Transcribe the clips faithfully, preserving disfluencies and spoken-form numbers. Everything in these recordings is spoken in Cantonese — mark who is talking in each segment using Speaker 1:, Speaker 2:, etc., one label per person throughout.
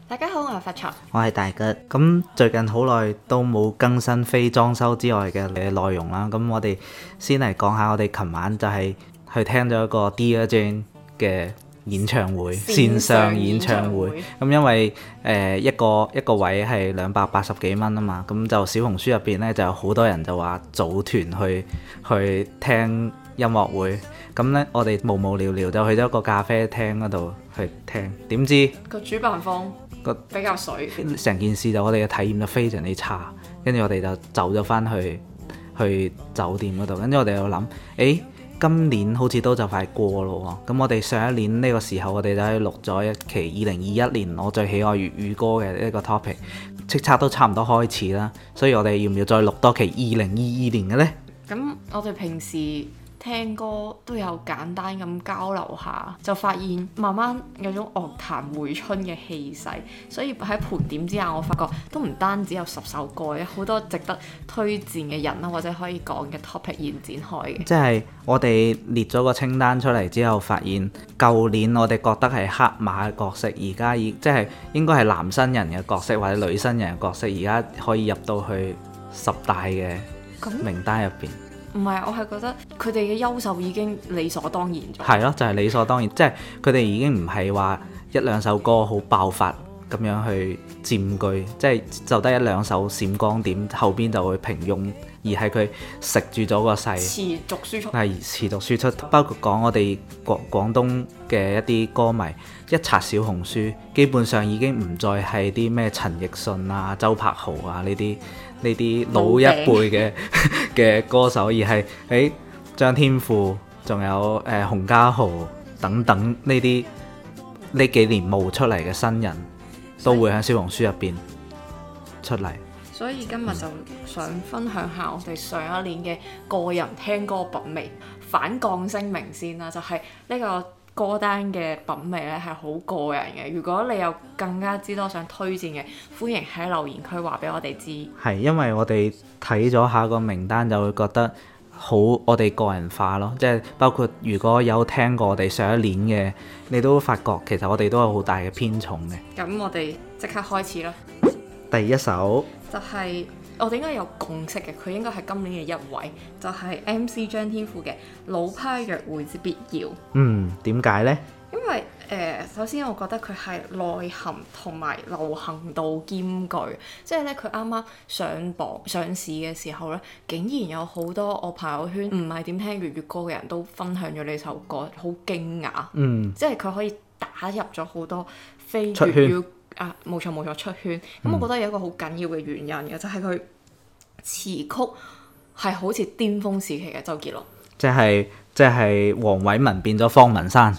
Speaker 1: 大家好，我係發財，
Speaker 2: 我係大吉。咁最近好耐都冇更新非裝修之外嘅內容啦。咁我哋先嚟講下，我哋琴晚就係去聽咗一個 Dear Jane 嘅演唱會，線上演唱會。咁因為誒、呃、一個一個位係兩百八十幾蚊啊嘛，咁就小紅書入邊咧就有好多人就話組團去去聽音樂會。咁咧我哋無無聊聊就去咗個咖啡廳嗰度去聽，點知
Speaker 1: 個主辦方比較水，
Speaker 2: 成件事就我哋嘅體驗就非常之差，跟住我哋就走咗翻去去酒店嗰度，跟住我哋又諗，誒今年好似都就快過咯喎，咁我哋上一年呢個時候我哋就係錄咗一期二零二一年我最喜愛粵語歌嘅呢個 topic， 叱咤都差唔多開始啦，所以我哋要唔要再錄多期二零二二年嘅呢？
Speaker 1: 咁我哋平時聽歌都有簡單咁交流下，就發現慢慢有種樂壇回春嘅氣勢，所以喺盤點之下，我發覺都唔單止有十首歌，有好多值得推薦嘅人啦，或者可以講嘅 topic 延展開嘅。
Speaker 2: 即係我哋列咗個清單出嚟之後，發現舊年我哋覺得係黑馬嘅角色，而家已即係應該係男新人嘅角色或者女新人嘅角色，而家可以入到去十大嘅名單入邊。
Speaker 1: 唔係，我係覺得佢哋嘅優秀已經理所當然咗。
Speaker 2: 係咯，就係理所當然，即係佢哋已經唔係話一兩首歌好爆發咁樣去佔據，即係就得一兩首閃光點，後邊就會平庸，而係佢食住咗個勢，
Speaker 1: 持續輸出。
Speaker 2: 係持續輸出，包括講我哋廣廣東嘅一啲歌迷，一刷小紅書，基本上已經唔再係啲咩陳奕迅啊、周柏豪啊呢啲。呢啲老一輩嘅嘅歌手，而係誒張天賦，仲有誒、呃、洪家豪等等呢啲呢幾年冒出嚟嘅新人，都會喺小紅書入邊出嚟。
Speaker 1: 所以今日就想分享下我哋上一年嘅個人聽歌品味，反降聲明先啦，就係、是、呢個歌單嘅品味咧係好個人嘅。如果你有更加之多想推薦嘅，歡迎喺留言區話俾我哋知。
Speaker 2: 係因為我哋睇咗下個名單，就會覺得好我哋個人化咯，即係包括如果有聽過我哋上一年嘅，你都發覺其實我哋都有好大嘅偏重嘅。
Speaker 1: 咁我哋即刻開始啦。
Speaker 2: 第一首
Speaker 1: 就係、是、我哋應該有共識嘅，佢應該係今年嘅一位，就係、是、M C 張天賦嘅《老派約會之必要》。
Speaker 2: 嗯，點解呢？
Speaker 1: 因為誒、呃，首先我覺得佢係內涵同埋流行度兼具，即係咧佢啱啱上榜上市嘅時候咧，竟然有好多我朋友圈唔係點聽粵語歌嘅人都分享咗呢首歌，好驚訝。嗯，即係佢可以打入咗好多非粵語啊，冇錯冇錯出圈。咁、嗯、我覺得有一個好緊要嘅原因嘅，就係佢詞曲係好似巔峰時期嘅周杰倫，即係
Speaker 2: 即係黃偉文變咗方文山。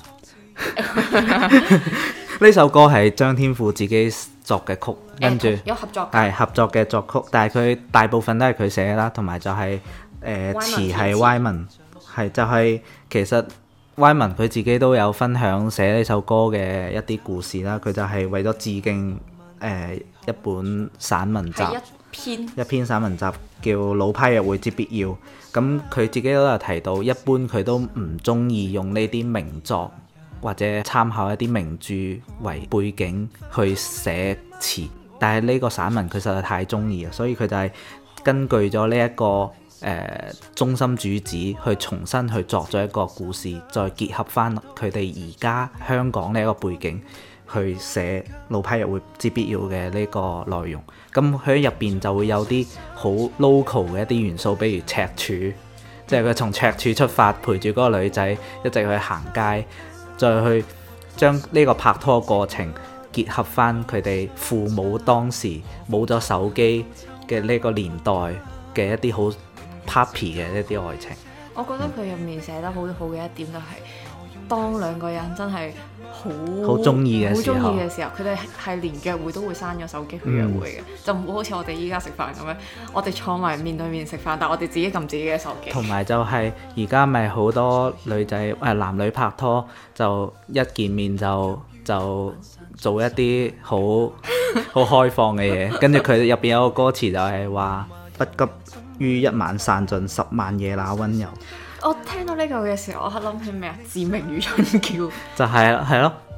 Speaker 2: 呢首歌係張天賦自己作嘅曲，跟住、呃、
Speaker 1: 有合作
Speaker 2: 係合作嘅作曲，但係佢大部分都係佢寫啦，同埋就係誒詞係 Wyman， 係就係、是、其實 Wyman 佢自己都有分享寫呢首歌嘅一啲故事啦，佢就係為咗致敬誒、呃、一本散文集，
Speaker 1: 一篇
Speaker 2: 一篇散文集叫《老派約會之必要》，咁佢自己都有提到，一般佢都唔中意用呢啲名作或者參考一啲名著為背景去寫詞，但係呢個散文佢實在太中意啊，所以佢就係根據咗呢一個誒、呃、中心主旨去重新去作咗一個故事，再結合翻佢哋而家香港呢一個背景去寫老派約會之必要嘅呢個內容。咁佢喺入邊就會有啲好 local 嘅一啲元素，比如赤柱，即係佢從赤柱出發，陪住嗰個女仔一直去行街，再去將呢個拍拖過程結合翻佢哋父母當時冇咗手機嘅呢個年代嘅一啲好 puppy 嘅一啲愛情。
Speaker 1: 我覺得佢入面寫得好好嘅一點就係、是，當兩個人真係好
Speaker 2: 好中意嘅時候，
Speaker 1: 好中意嘅時候，佢哋係連約會都會閂咗手機去約會嘅，嗯、就唔會好似我哋依家食飯咁樣，我哋坐埋面對面食飯，但係我哋自己撳自己嘅手機。同埋就係而家咪好多女仔誒、呃、男女拍拖就一見面就就做一啲好好開放嘅嘢，跟住佢入邊有個歌詞就係話不急於一晚散盡十萬夜那溫柔。 我聽到呢句嘅時候，我係諗起咩啊？志明與春嬌就
Speaker 2: 係係咯，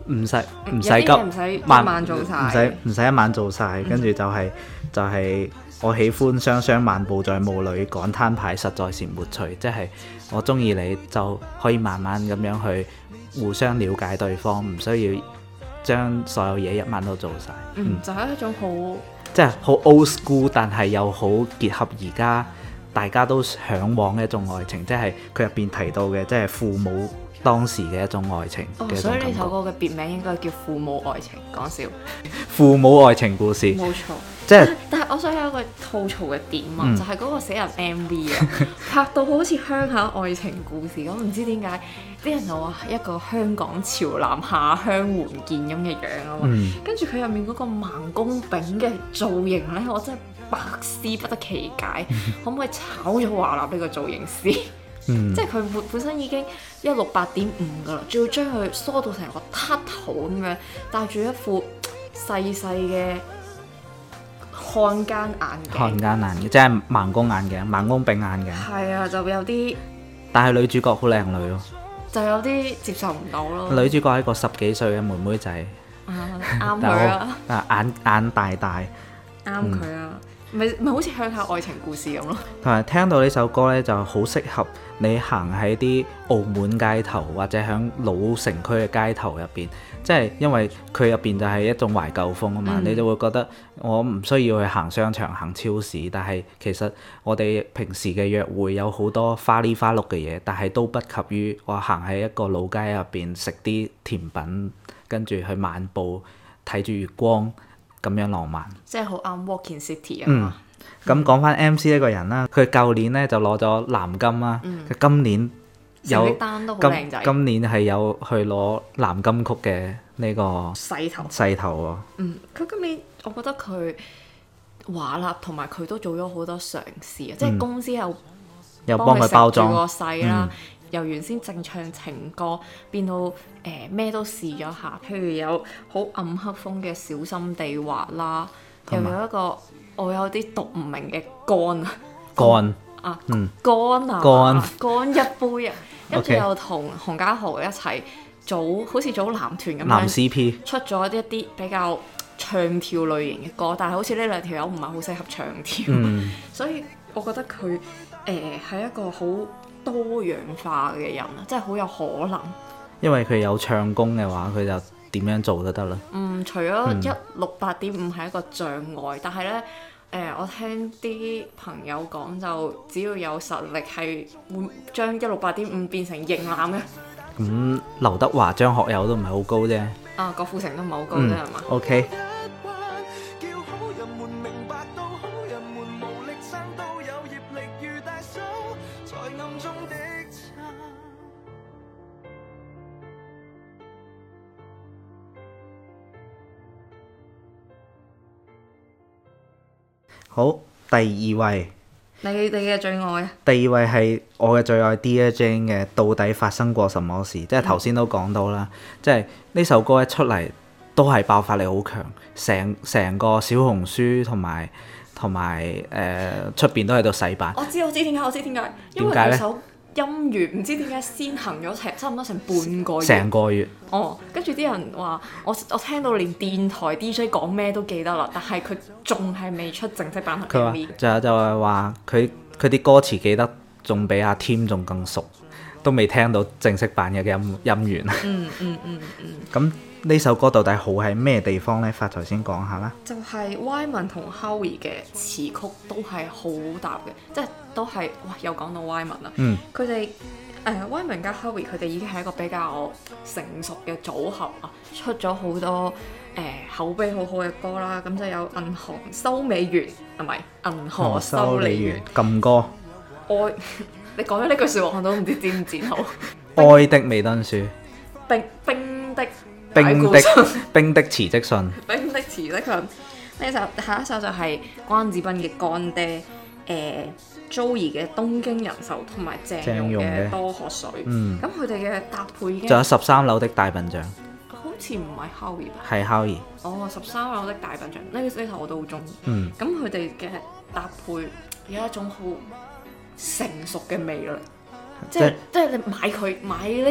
Speaker 2: 唔使唔使急，
Speaker 1: 有啲嘢唔使一晚做晒，
Speaker 2: 唔使唔使一晚做晒，跟住就係就係我喜歡雙雙漫步在霧裏，趕攤牌實在是沒趣，即係我中意你就可以慢慢咁樣去互相了解對方，唔需要將所有嘢一晚都做晒。
Speaker 1: 嗯，就係一種好
Speaker 2: 即係好 old school，但係又好結合而家大家都嚮往嘅一種愛情，即係佢入邊提到嘅，即係父母當時嘅一種愛情嘅一種
Speaker 1: 哦，所以
Speaker 2: 感覺。
Speaker 1: 呢首歌嘅別名應該叫《父母愛情》，講笑。
Speaker 2: 父母愛情故事，
Speaker 1: 冇錯。
Speaker 2: 即係
Speaker 1: 但係我想有一個吐槽嘅點啊，
Speaker 2: 嗯
Speaker 1: 就係嗰個死人 M V 啊，拍到好似鄉下愛情故事咁，唔知點解啲人就話一個香港潮男下鄉援建咁嘅樣啊嘛，
Speaker 2: 嗯
Speaker 1: 跟住佢入面嗰個盲公炳嘅造型咧，我真係百思不得其解，可唔可以炒咗華納呢個造型師？
Speaker 2: 嗯
Speaker 1: 即係佢本本身已經一六八點五噶啦，仲要將佢梳到成個禿頭咁樣，戴住一副細細嘅漢奸眼鏡，
Speaker 2: 漢奸眼鏡，即係盲公眼鏡、盲公炳眼鏡。
Speaker 1: 係啊，就有啲
Speaker 2: 但係女主角好靚女咯，
Speaker 1: 就有啲接受唔到咯。
Speaker 2: 女主角係一個十幾歲嘅妹妹仔，
Speaker 1: 啊啱佢
Speaker 2: 但係
Speaker 1: 啊，
Speaker 2: 我啊眼眼大大。
Speaker 1: 啱佢啊，咪咪好似鄉下愛情故事咁咯。
Speaker 2: 同埋聽到呢首歌呢，就好適合你行喺啲澳門街頭或者響老城區嘅街頭入邊，即係因為佢入邊就係一種懷舊風啊嘛，
Speaker 1: 嗯
Speaker 2: 你就會覺得我唔需要去行商場、行超市，但係其實我哋平時嘅約會有好多花里花碌嘅嘢，但係都不及於我行喺一個老街入邊食啲甜品，跟住去漫步睇住月光。咁樣浪漫，
Speaker 1: 即係好啱 Walk in City 啊
Speaker 2: 嗯
Speaker 1: 嘛。
Speaker 2: 咁講翻 M C 呢個人啦，佢舊年咧就攞咗藍金啦，佢、
Speaker 1: 嗯
Speaker 2: 今年有
Speaker 1: 成績單都好
Speaker 2: 今
Speaker 1: 靚仔，
Speaker 2: 今年係有去攞藍金曲嘅呢個
Speaker 1: 勢頭。
Speaker 2: 勢頭喎。
Speaker 1: 嗯，佢今年我覺得佢華納同埋佢都做咗好多嘗試啊，即係公司又
Speaker 2: 又幫佢包裝
Speaker 1: 個勢啦。
Speaker 2: 嗯
Speaker 1: 由原先淨唱情歌變到誒咩、呃、都試咗下，譬如有好暗黑風嘅小心地滑啦，又
Speaker 2: 同埋
Speaker 1: 有一個我有啲讀唔明嘅乾啊
Speaker 2: 乾
Speaker 1: 啊
Speaker 2: 嗯
Speaker 1: 乾啊
Speaker 2: 乾
Speaker 1: 乾一杯啊，跟住
Speaker 2: OK
Speaker 1: 又同洪家豪一齊組好似組男團咁
Speaker 2: 男
Speaker 1: 樣
Speaker 2: C P，
Speaker 1: 出咗一啲比較唱跳類型嘅歌，但係好似呢兩條友唔係好適合唱跳，
Speaker 2: 嗯
Speaker 1: 所以我覺得佢誒係一個好多樣化嘅人啊，即係好有可能。
Speaker 2: 因為佢有唱功嘅話，佢就點樣做都得啦。
Speaker 1: 嗯，除咗一六八點五係一個障礙，但係咧誒，我聽啲朋友講就只要有實力係會將一六八點五變成型男嘅。
Speaker 2: 咁劉德華、張學友都唔係好高啫。
Speaker 1: 啊，郭富城都唔係好高啫，係嘛、
Speaker 2: 嗯、？OK。好，第二位，
Speaker 1: 你哋嘅最愛啊？
Speaker 2: 第二位係我嘅最愛 Dear Jane 嘅《到底發生過什麼事》，即係頭先都講到啦，即係呢首歌一出嚟都係爆發力好強，成成個小紅書同埋同埋誒出邊都喺度洗版。
Speaker 1: 我知我知點解，我知點解，因為
Speaker 2: 點解呢
Speaker 1: 佢首音樂唔知點解先行咗成差唔多成半個月。
Speaker 2: 成個月。
Speaker 1: 哦，跟住啲人話我我聽到連電台 D J 講咩都記得啦，但係佢仲係未出正式版
Speaker 2: 佢話
Speaker 1: M V。
Speaker 2: 就就係話佢佢啲歌詞記得仲比阿 Tim 仲更熟，都未聽到正式版嘅音音源。
Speaker 1: 嗯嗯嗯嗯。
Speaker 2: 咁呢首歌到底好喺咩地方呢？發財先講下啦。
Speaker 1: 就係 Wyman 同 Howie 嘅詞曲都係好搭嘅，即係都係哇！又講到 Wyman 啦，
Speaker 2: 嗯，
Speaker 1: 佢哋誒 Wyman 加 Howie 佢哋已經係一個比較成熟嘅組合啊，出咗好多誒、呃、口碑好好嘅歌啦，咁就有銀行修美員係咪？銀河修理員
Speaker 2: 禁歌，
Speaker 1: 愛你講咗呢句説話我都唔知剪唔剪好。
Speaker 2: 愛的美敦書，
Speaker 1: 冰冰的
Speaker 2: 冰的冰的辭職信，
Speaker 1: 冰的辭職信。呢首下一首就係關智斌嘅乾爹，誒 Joey 嘅東京人壽同埋鄭融嘅多喝水。
Speaker 2: 嗯，
Speaker 1: 咁佢哋嘅搭配已經
Speaker 2: 仲有十三樓的大笨象，
Speaker 1: 好似唔係 Howie 吧？
Speaker 2: 係 Howie。
Speaker 1: 哦，十三樓的大笨象呢呢頭我都好中意。
Speaker 2: 嗯，
Speaker 1: 咁佢哋嘅搭配有一種好成熟嘅魅力，即係即係你買佢買呢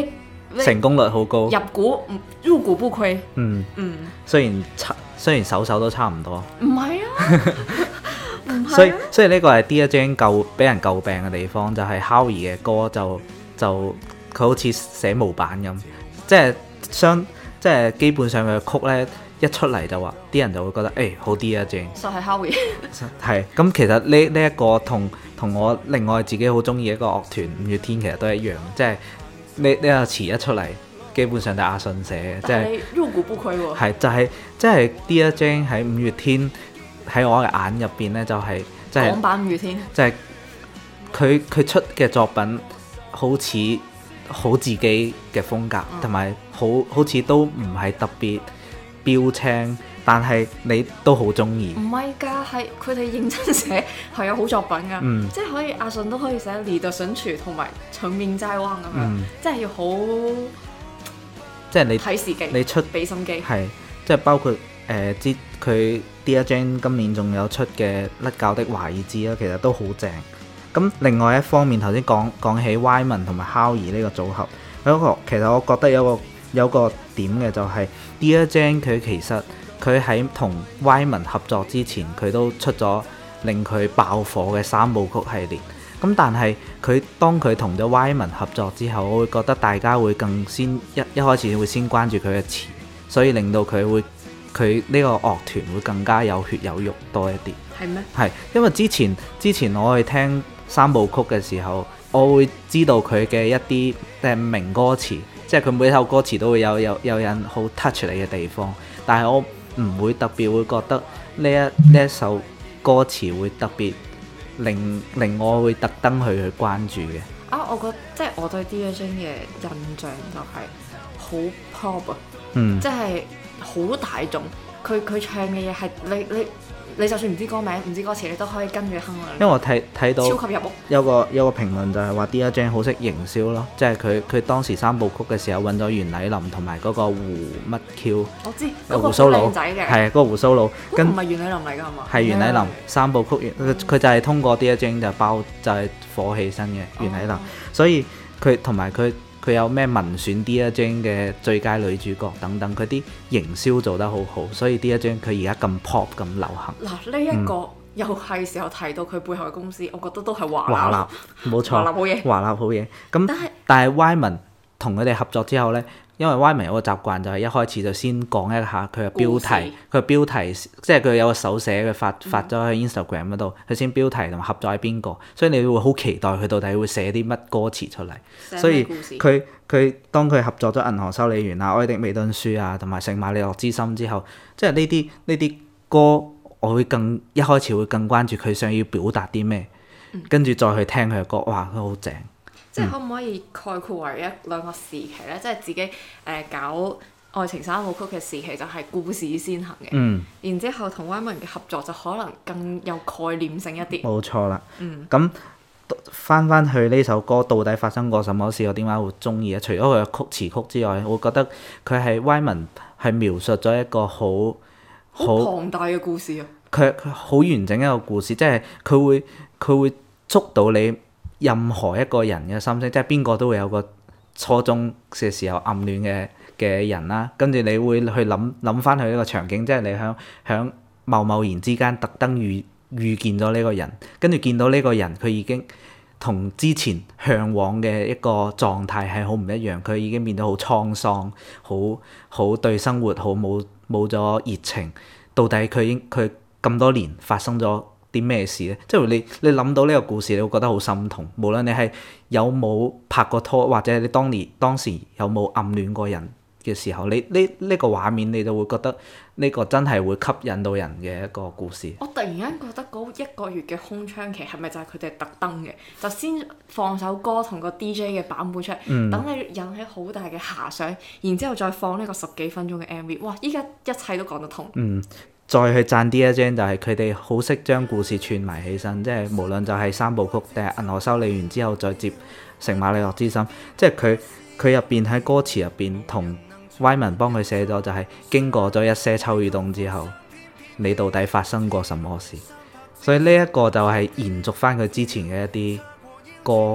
Speaker 2: 成功率好高，
Speaker 1: 入股入股不虧。
Speaker 2: 嗯
Speaker 1: 嗯，
Speaker 2: 雖然差雖然首首都差唔多，
Speaker 1: 唔係啊，唔係啊，
Speaker 2: 所以所以呢個係 Dear Jane 詬俾人詬病嘅地方，就係 Howie 嘅歌就就佢好似寫模板咁，即係相即係基本上佢嘅曲咧一出嚟就話啲人就會覺得誒、欸、好 Dear Jane，
Speaker 1: 就係 Howie。
Speaker 2: 係咁其實呢呢一個同同我另外自己好中意一個樂團五月天其實都一樣，即係呢呢個詞一出嚟，基本上就係阿信寫嘅，即係
Speaker 1: 入股不虧喎。
Speaker 2: 係就係即係 Dear Jane 喺五月天喺我嘅眼入邊咧，就係即係
Speaker 1: 港版五月天，
Speaker 2: 即係佢佢出嘅作品好似好自己嘅風格，同埋、嗯、好好似都唔係特別標青，但係你都好中意。
Speaker 1: 唔係㗎，係佢哋認真寫係有好作品㗎，
Speaker 2: 嗯、
Speaker 1: 即係可以阿信都可以寫《你的神曲》同埋《成名在望》咁樣，
Speaker 2: 嗯、
Speaker 1: 即係要好
Speaker 2: 即係你
Speaker 1: 睇時機，
Speaker 2: 你出
Speaker 1: 俾心機，
Speaker 2: 係即係包括誒之佢 Dear Jane 今年仲有出嘅《甩教的華爾茲》啦，其實都好正。咁另外一方面，頭先講講起 Wyman 同埋 Howie 呢個組合，有一個其實我覺得有個有個點嘅就係 Dear Jane 佢其實佢喺同 Wyman 合作之前，佢都出咗令佢爆火嘅三部曲系列。咁但係佢當佢同咗 Wyman 合作之後，我會覺得大家會更先一一開始會先關注佢嘅詞，所以令到佢會佢呢個樂團會更加有血有肉多一啲。
Speaker 1: 係咩？
Speaker 2: 係因為之前之前我去聽三部曲嘅時候，我會知道佢嘅一啲誒名歌詞，即係佢每首歌詞都會有有有人好 touch 你嘅地方，但係我唔會特別會覺得呢一呢一首歌詞會特別令令我會特登去去關注嘅。
Speaker 1: 啊，我覺得即係我對 Dear Jane 嘅印象就係好 pop 啊，
Speaker 2: 嗯，
Speaker 1: 即係好大眾。佢佢唱嘅嘢係你你你就算唔知歌名唔知歌詞，你都可以跟住哼啊。
Speaker 2: 因為我睇睇到
Speaker 1: 超級入屋
Speaker 2: 有個有個評論就係話 Dear Jane 好識營銷咯，即係佢佢當時三部曲嘅時候揾咗袁澧林同埋嗰個胡乜 Q，
Speaker 1: 我知
Speaker 2: 有胡鬚佬
Speaker 1: 靚仔嘅，
Speaker 2: 係嗰個胡鬚佬，跟
Speaker 1: 唔係袁澧林嚟㗎係嘛？
Speaker 2: 係袁澧林三部曲，佢佢就係通過 Dear Jane 就包就係火起身嘅袁澧林，
Speaker 1: 哦、
Speaker 2: 所以佢同埋佢佢有咩民選 Dear Jane 嘅最佳女主角等等，佢啲營銷做得好好，所以 Dear Jane 佢而家咁 pop 咁流行。
Speaker 1: 嗱呢一個、嗯、又係時候提到佢背後嘅公司，我覺得都係華
Speaker 2: 華納，冇錯，
Speaker 1: 華納好嘢，
Speaker 2: 華納好嘢。咁但係但係 Wyman 同佢哋合作之後呢，因為 Wyman 有個習慣就係一開始就先講一下佢嘅標題，佢嘅標題即係佢有個手寫，佢發發咗喺 Instagram 嗰度，佢先標題同埋合作喺邊個，所以你會好期待佢到底會寫啲乜歌詞出嚟。所以佢佢當佢合作咗《銀河修理員》啊、《愛的美敦書》啊同埋《聖馬力諾之心》之後，即係呢啲呢啲歌，我會更一開始會更關注佢想要表達啲咩，跟住、嗯、再去聽佢嘅歌，哇，佢好正！
Speaker 1: 即係可唔可以概括為一兩個時期咧？即係自己誒、呃、搞愛情三部曲嘅時期就係故事先行嘅，
Speaker 2: 嗯、
Speaker 1: 然之後同 Wyman 嘅合作就可能更有概念性一啲。
Speaker 2: 冇錯啦。
Speaker 1: 嗯。
Speaker 2: 咁翻翻去呢首歌，到底發生過什麼事？我點解會中意咧？除咗佢嘅曲詞曲之外，我覺得佢係 Wyman 係描述咗一個好好
Speaker 1: 龐大嘅故事啊！
Speaker 2: 佢佢好完整一個故事，即係佢會佢會捉到你任何一個人嘅心聲，即係邊個都會有個初中嘅時候暗戀嘅嘅人啦。跟住你會去諗諗翻佢呢個場景，即係你響響貿貿然之間特登遇遇見咗呢個人，跟住見到呢個人佢已經同之前嚮往嘅一個狀態係好唔一樣，佢已經變得好滄桑，好好對生活好冇冇咗熱情。到底佢應佢咁多年發生咗啲咩事咧？即係你你諗到呢個故事，你會覺得好心痛。無論你係有冇拍過拖，或者你當年當時有冇暗戀過人嘅時候，你呢呢個畫面你就會覺得呢個真係會吸引到人嘅一個故事。
Speaker 1: 我突然間覺得嗰一個月嘅空窗期係咪就係佢哋特登嘅？就先放首歌同個 D J 嘅版本出嚟，等、嗯、你引起好大嘅遐想，然之後再放呢個十幾分鐘嘅 M V。哇！依家一切都講得通。嗯。
Speaker 2: 再去讚 Dear Jane 就係佢哋好識將故事串埋起身，即係無論就係三部曲定係銀河修理完之後再接聖馬力諾之心，即係佢佢入邊喺歌詞入邊同 Wyman 幫佢寫咗就係經過咗一些秋與冬之後，你到底發生過什麼事？所以呢一個就係延續翻佢之前嘅一啲歌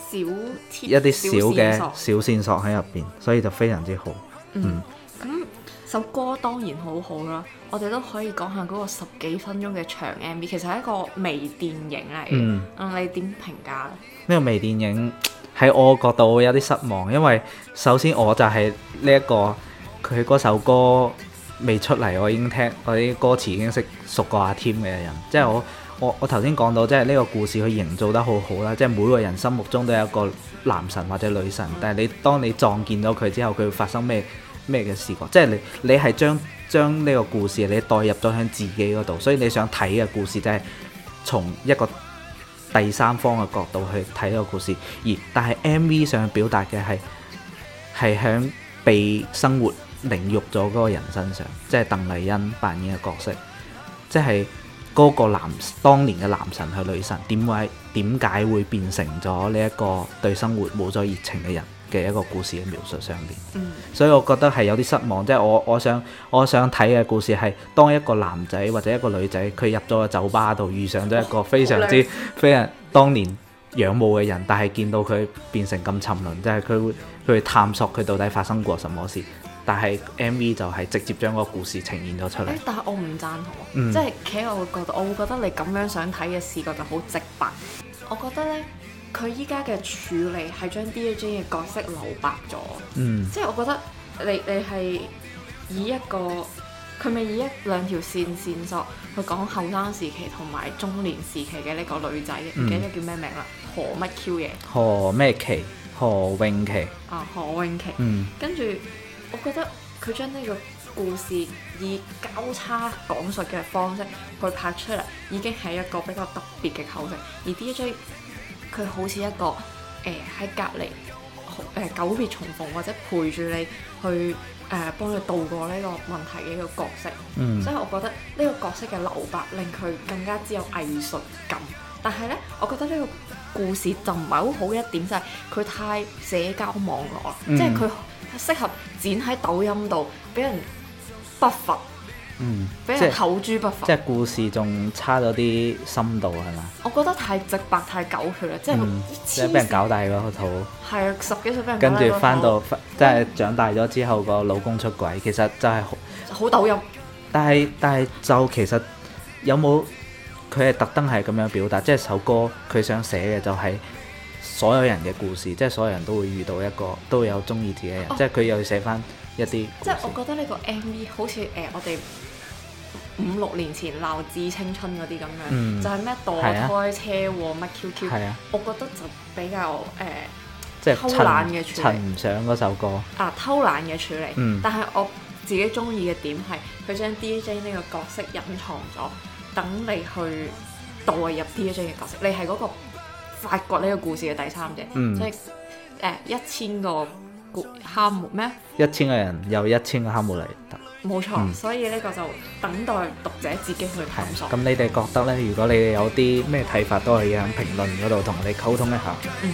Speaker 1: 小貼
Speaker 2: 一啲小嘅
Speaker 1: 小線索
Speaker 2: 小線索喺入邊，所以就非常之好。
Speaker 1: 嗯，咁首歌當然好好啦，我哋都可以講下嗰個十幾分鐘嘅長 M V， 其實係一個微電影嚟嘅。
Speaker 2: 嗯，
Speaker 1: 嗯，你點評價咧？
Speaker 2: 呢個微電影喺我角度會有啲失望，因為首先我就係呢一個佢嗰首歌未出嚟，我已經聽我啲歌詞已經識熟過阿添嘅人，即係我我我頭先講到，即係呢個故事佢營造得好好啦，即係每個人心目中都有一個男神或者女神，但係你當你撞見到佢之後，佢會發生咩咩嘅事況？即係你你係將將呢個故事你代入咗喺自己嗰度，所以你想睇嘅故事就係從一個第三方嘅角度去睇呢個故事，而但係 M V 上表達嘅係係響被生活凌辱咗嗰個人身上，即係鄧麗欣扮演嘅角色，即係嗰個男當年嘅男神去女神，點解點解會變成咗呢一個對生活冇咗熱情嘅人嘅一個故事嘅描述上邊？
Speaker 1: 嗯，
Speaker 2: 所以我覺得係有啲失望，即係我我想我想睇嘅故事係當一個男仔或者一個女仔，佢入咗個酒吧度遇上咗一個非常之、哦、非常當年仰慕嘅人，但係見到佢變成咁沉淪，即係佢會佢會探索佢到底發生過什麼事。但係 M V 就係直接將個故事呈現咗出嚟。
Speaker 1: 但係我唔贊同，
Speaker 2: 嗯、
Speaker 1: 即係企喺我嘅角度，我會覺得你咁樣想睇嘅視覺就好直白。我覺得呢，佢依家嘅處理係將 D J 嘅角色留白咗。
Speaker 2: 嗯，
Speaker 1: 即係我覺得你你係以一個佢咪以一兩條線線索去講後生時期同埋中年時期嘅呢個女仔，唔、嗯、記得叫咩名啦，何乜 Q 嘢？何
Speaker 2: 咩琪？何詠琪。
Speaker 1: 啊，何詠琪。
Speaker 2: 嗯，
Speaker 1: 跟住。我覺得佢將呢個故事以交叉講述嘅方式去拍出嚟，已經係一個比較特別嘅構成。而 D J 佢好似一個誒喺隔離誒久別重逢或者陪住你去誒、呃、幫你渡過呢個問題嘅一個角色。
Speaker 2: 嗯，
Speaker 1: 所以我覺得呢個角色嘅留白令佢更加之有藝術感。但係呢，我覺得呢個故事就唔係好好嘅一點就係、是、佢太社交網絡啦，嗯、即係佢。適合剪喺抖音度，俾人不乏，嗯，俾人口誅筆伐。
Speaker 2: 即係故事仲差咗啲深度係嘛？
Speaker 1: 我覺得太直白、太狗血啦，即係、嗯、
Speaker 2: 即係俾人搞大嗰套。
Speaker 1: 係啊，十幾歲俾人搞大嗰套。
Speaker 2: 跟住翻到即係長大咗之後個老公出軌，其實就係好
Speaker 1: 好抖音。但
Speaker 2: 係但係就其實有冇佢係特登係咁樣表達？即係首歌佢想寫嘅就係、是。所有人嘅故事，即係所有人都會遇到一個，都會有中意自己嘅人，哦、即係佢又要寫翻一啲。即
Speaker 1: 係我覺得呢個 M V 好似誒、呃、我哋五六年前鬧致青春嗰啲咁樣，嗯、就係咩墮胎、車禍乜 Q Q，我覺得就比較誒、呃、
Speaker 2: 即係
Speaker 1: 偷懶嘅處理。
Speaker 2: 襯唔上嗰首歌
Speaker 1: 啊，偷懶嘅處理。
Speaker 2: 嗯、
Speaker 1: 但係我自己中意嘅點係佢將 D J 呢個角色隱藏咗，等你去代入 D J 嘅角色，你係嗰、嗰個。發掘呢個故事嘅第三者，嗯、即係誒一千個哈姆咩？
Speaker 2: 一千個人有一千個哈姆雷特，
Speaker 1: 冇錯。嗯、所以呢個就等待讀者自己去探索。
Speaker 2: 咁你哋覺得呢？如果你哋有啲咩睇法，都可以喺評論嗰度同我哋溝通一下。嗯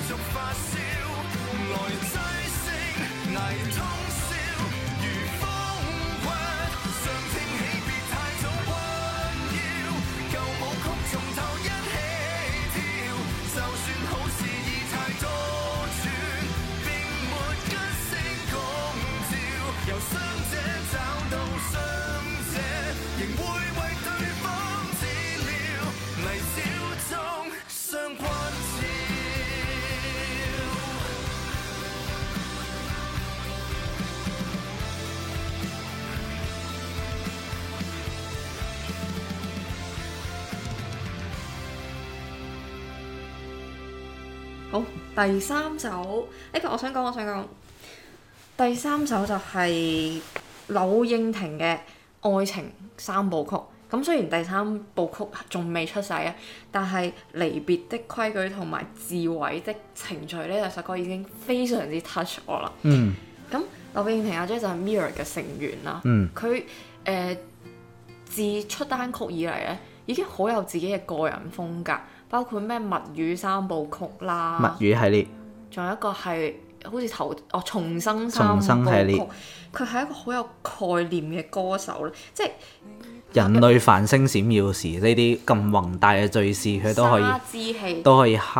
Speaker 1: 好，第三首呢、這個我想講，我想講第三首就係柳應廷嘅愛情三部曲。咁雖然第三部曲仲未出世啊，但係離別的規矩同埋自毀的程序呢兩首歌已經非常之 touch 我啦。
Speaker 2: 嗯。
Speaker 1: 咁柳應廷阿姐就係 Mirror 嘅成員啦。
Speaker 2: 嗯。
Speaker 1: 佢誒、呃、自出單曲以嚟咧，已經好有自己嘅個人風格。包括咩物語三部曲啦，
Speaker 2: 物語系列，
Speaker 1: 仲有一個係好似頭哦重生三部曲，佢係一個好有概念嘅歌手咧，即係
Speaker 2: 人類繁星閃耀時呢啲咁宏大嘅敘事，佢都可以
Speaker 1: 之氣
Speaker 2: 都可以刻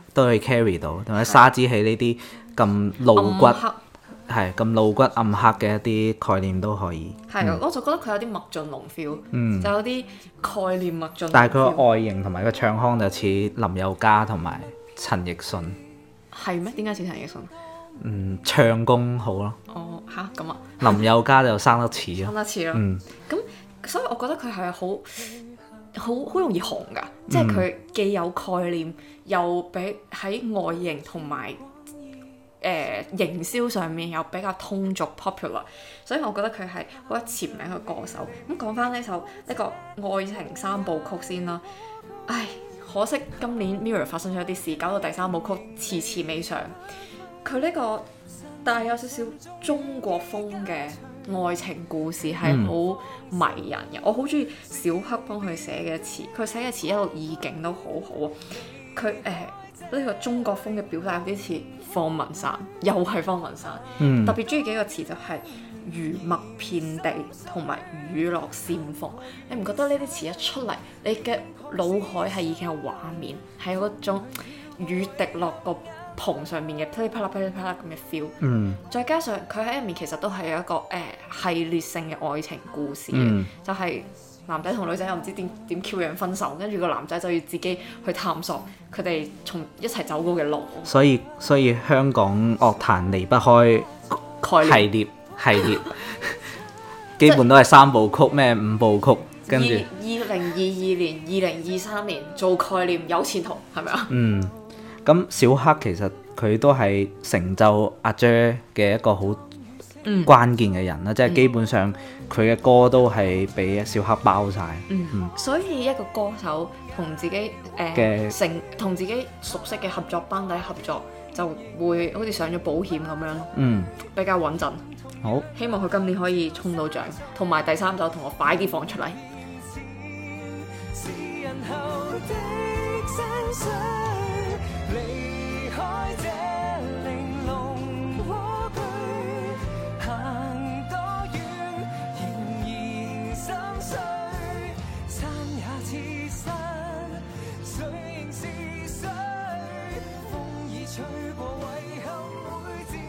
Speaker 2: 都可以 carry 到，同埋沙之器呢啲咁露骨係咁露骨暗黑嘅一啲概念都可以。
Speaker 1: 係啊，我就覺得佢有啲麥浚龍 feel，嗯，就有啲概念麥浚龍 feel。
Speaker 2: 但係佢個外形同埋個唱腔就似林宥嘉同埋陳奕迅。
Speaker 1: 係咩？點解似陳奕迅？
Speaker 2: 嗯，唱功好咯。
Speaker 1: 哦，吓咁啊！
Speaker 2: 林宥嘉就生得似咯，
Speaker 1: 生得似咯。
Speaker 2: 嗯，
Speaker 1: 咁所以我覺得佢係好好好容易紅㗎，即係佢既有概念，又比喺外形同埋誒營銷上面又比較通俗 popular，所以我覺得佢係好有潛力嘅歌手。咁講翻呢首呢個愛情三部曲先啦，唉，可惜今年 Mirror 發生咗一啲事，搞到第三部曲遲遲未上。佢呢個帶有少少中國風嘅愛情故事係好迷人嘅，嗯、我好中意小黑幫佢寫嘅詞，佢寫嘅詞一路意境都好好啊。佢誒呢個中國風嘅表達有啲似方文山，又係方文山，嗯、特別中意幾個詞就係魚墨遍地同埋雨落閃鳳。你唔覺得呢啲詞一出嚟，你嘅腦海係已經有畫面，係有嗰種雨滴落個棚上面嘅噼里啪啦噼里啪啦咁嘅 feel，嗯、再加上佢喺入面其實都係有一個誒、呃、系列性嘅愛情故事嘅，嗯、就係男仔同女仔又唔知點點 Q 樣分手，跟住個男仔就要自己去探索佢哋從一齊走過嘅路。所以
Speaker 2: 所以香港樂壇離不開系列系列，基本都係三部曲咩五部曲，跟住
Speaker 1: 二零二二年、二零二三年做概念有前途，係咪啊？
Speaker 2: 嗯。咁小黑其實佢都係成就阿 J 嘅一個好關鍵嘅人啦，嗯、即係基本上佢嘅歌都係俾小黑包晒。
Speaker 1: 嗯嗯、所以一個歌手同自己誒嘅成同自己熟悉嘅合作班底合作，就會好似上咗保險咁樣，嗯，比較穩陣。
Speaker 2: 好，
Speaker 1: 希望佢今年可以衝到獎，同埋第三首同我快啲放出嚟。離開這玲瓏蝸居，行多遠仍然心碎，山也似山，水仍是水，風已吹過遺憾會漸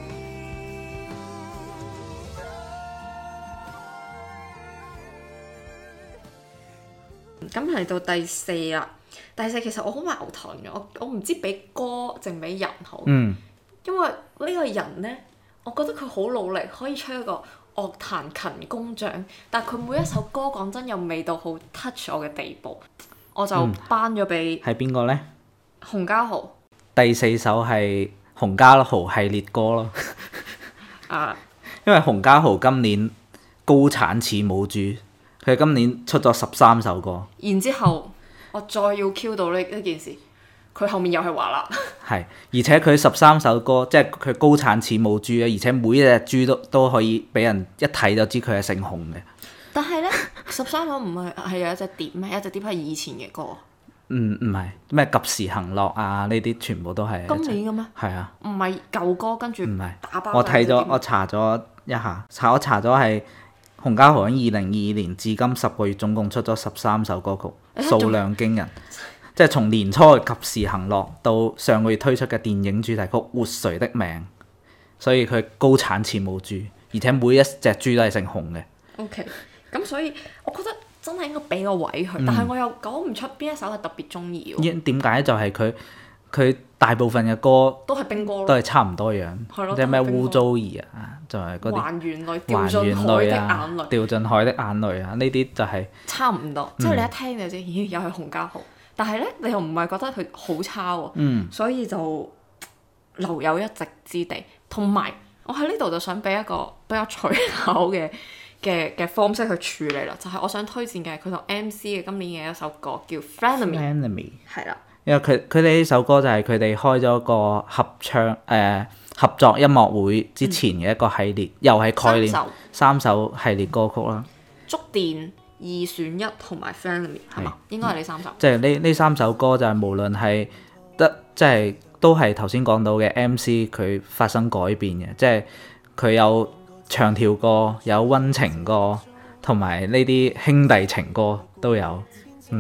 Speaker 1: 退。咁嚟到第四啦。第四其實我好矛盾嘅，我我唔知俾歌定俾人好，嗯、因為呢個人呢，我覺得佢好努力，可以出一個樂壇勤工獎，但係佢每一首歌講真又未到好 touch 我嘅地步，我就頒咗俾
Speaker 2: 係邊個呢？
Speaker 1: 洪嘉豪。
Speaker 2: 第四首係洪嘉豪系列歌咯，
Speaker 1: 啊，
Speaker 2: 因為洪嘉豪今年高產似母豬，佢今年出咗十三首歌，
Speaker 1: 然之後。我再要 Q 到呢呢件事，佢後面又係華納。係，
Speaker 2: 而且佢十三首歌，即係佢高產似母豬咧，而且每一隻豬都都可以俾人一睇就知佢係姓洪嘅。
Speaker 1: 但係咧，十三首唔係係有一隻碟咩？一隻碟係以前嘅歌。
Speaker 2: 嗯，唔係咩及時行樂啊？呢啲全部都係
Speaker 1: 今年嘅咩？
Speaker 2: 係啊，
Speaker 1: 唔係舊歌跟住
Speaker 2: 唔係
Speaker 1: 打包。
Speaker 2: 我睇咗，我查咗一下，查我查咗係。洪嘉豪喺二零二二年至今十個月總共出咗十三首歌曲，數量驚人。即係從年初嘅及時行樂到上個月推出嘅電影主題曲《活誰的命》，所以佢高產似母豬，而且每一隻豬都係姓洪嘅。
Speaker 1: OK，咁所以我覺得真係應該俾個位佢，嗯、但係我又講唔出邊一首係特別中意喎。
Speaker 2: 點解就係佢佢大部分嘅歌
Speaker 1: 都係兵歌咯，
Speaker 2: 都係差唔多樣，即係咩污糟兒啊，就係嗰啲
Speaker 1: 還原淚、掉進海的眼淚、
Speaker 2: 掉進海的眼淚啊，呢啲就係、是、
Speaker 1: 差唔多。即係、嗯、你一聽就知，咦，又係洪嘉豪。但係咧，你又唔係覺得佢好差喎、啊，嗯、所以就留有一席之地。同埋我喺呢度就想俾一個比較取巧嘅嘅嘅方式去處理啦，就係、是、我想推薦嘅佢同 M C 嘅今年嘅一首歌叫《Frenemy》，係啦。
Speaker 2: 因為佢佢哋呢首歌就係佢哋開咗個合唱誒、呃、合作音樂會之前嘅一個系列，嗯、又係概念三首，三首系列歌曲啦。
Speaker 1: 觸電、二選一同埋 Frenemy 係嘛？應該係呢三首。
Speaker 2: 即係呢呢三首歌就係無論係得即係都係頭先講到嘅 M C 佢發生改變嘅，即係佢有長條歌、有溫情歌同埋呢啲兄弟情歌都有，嗯。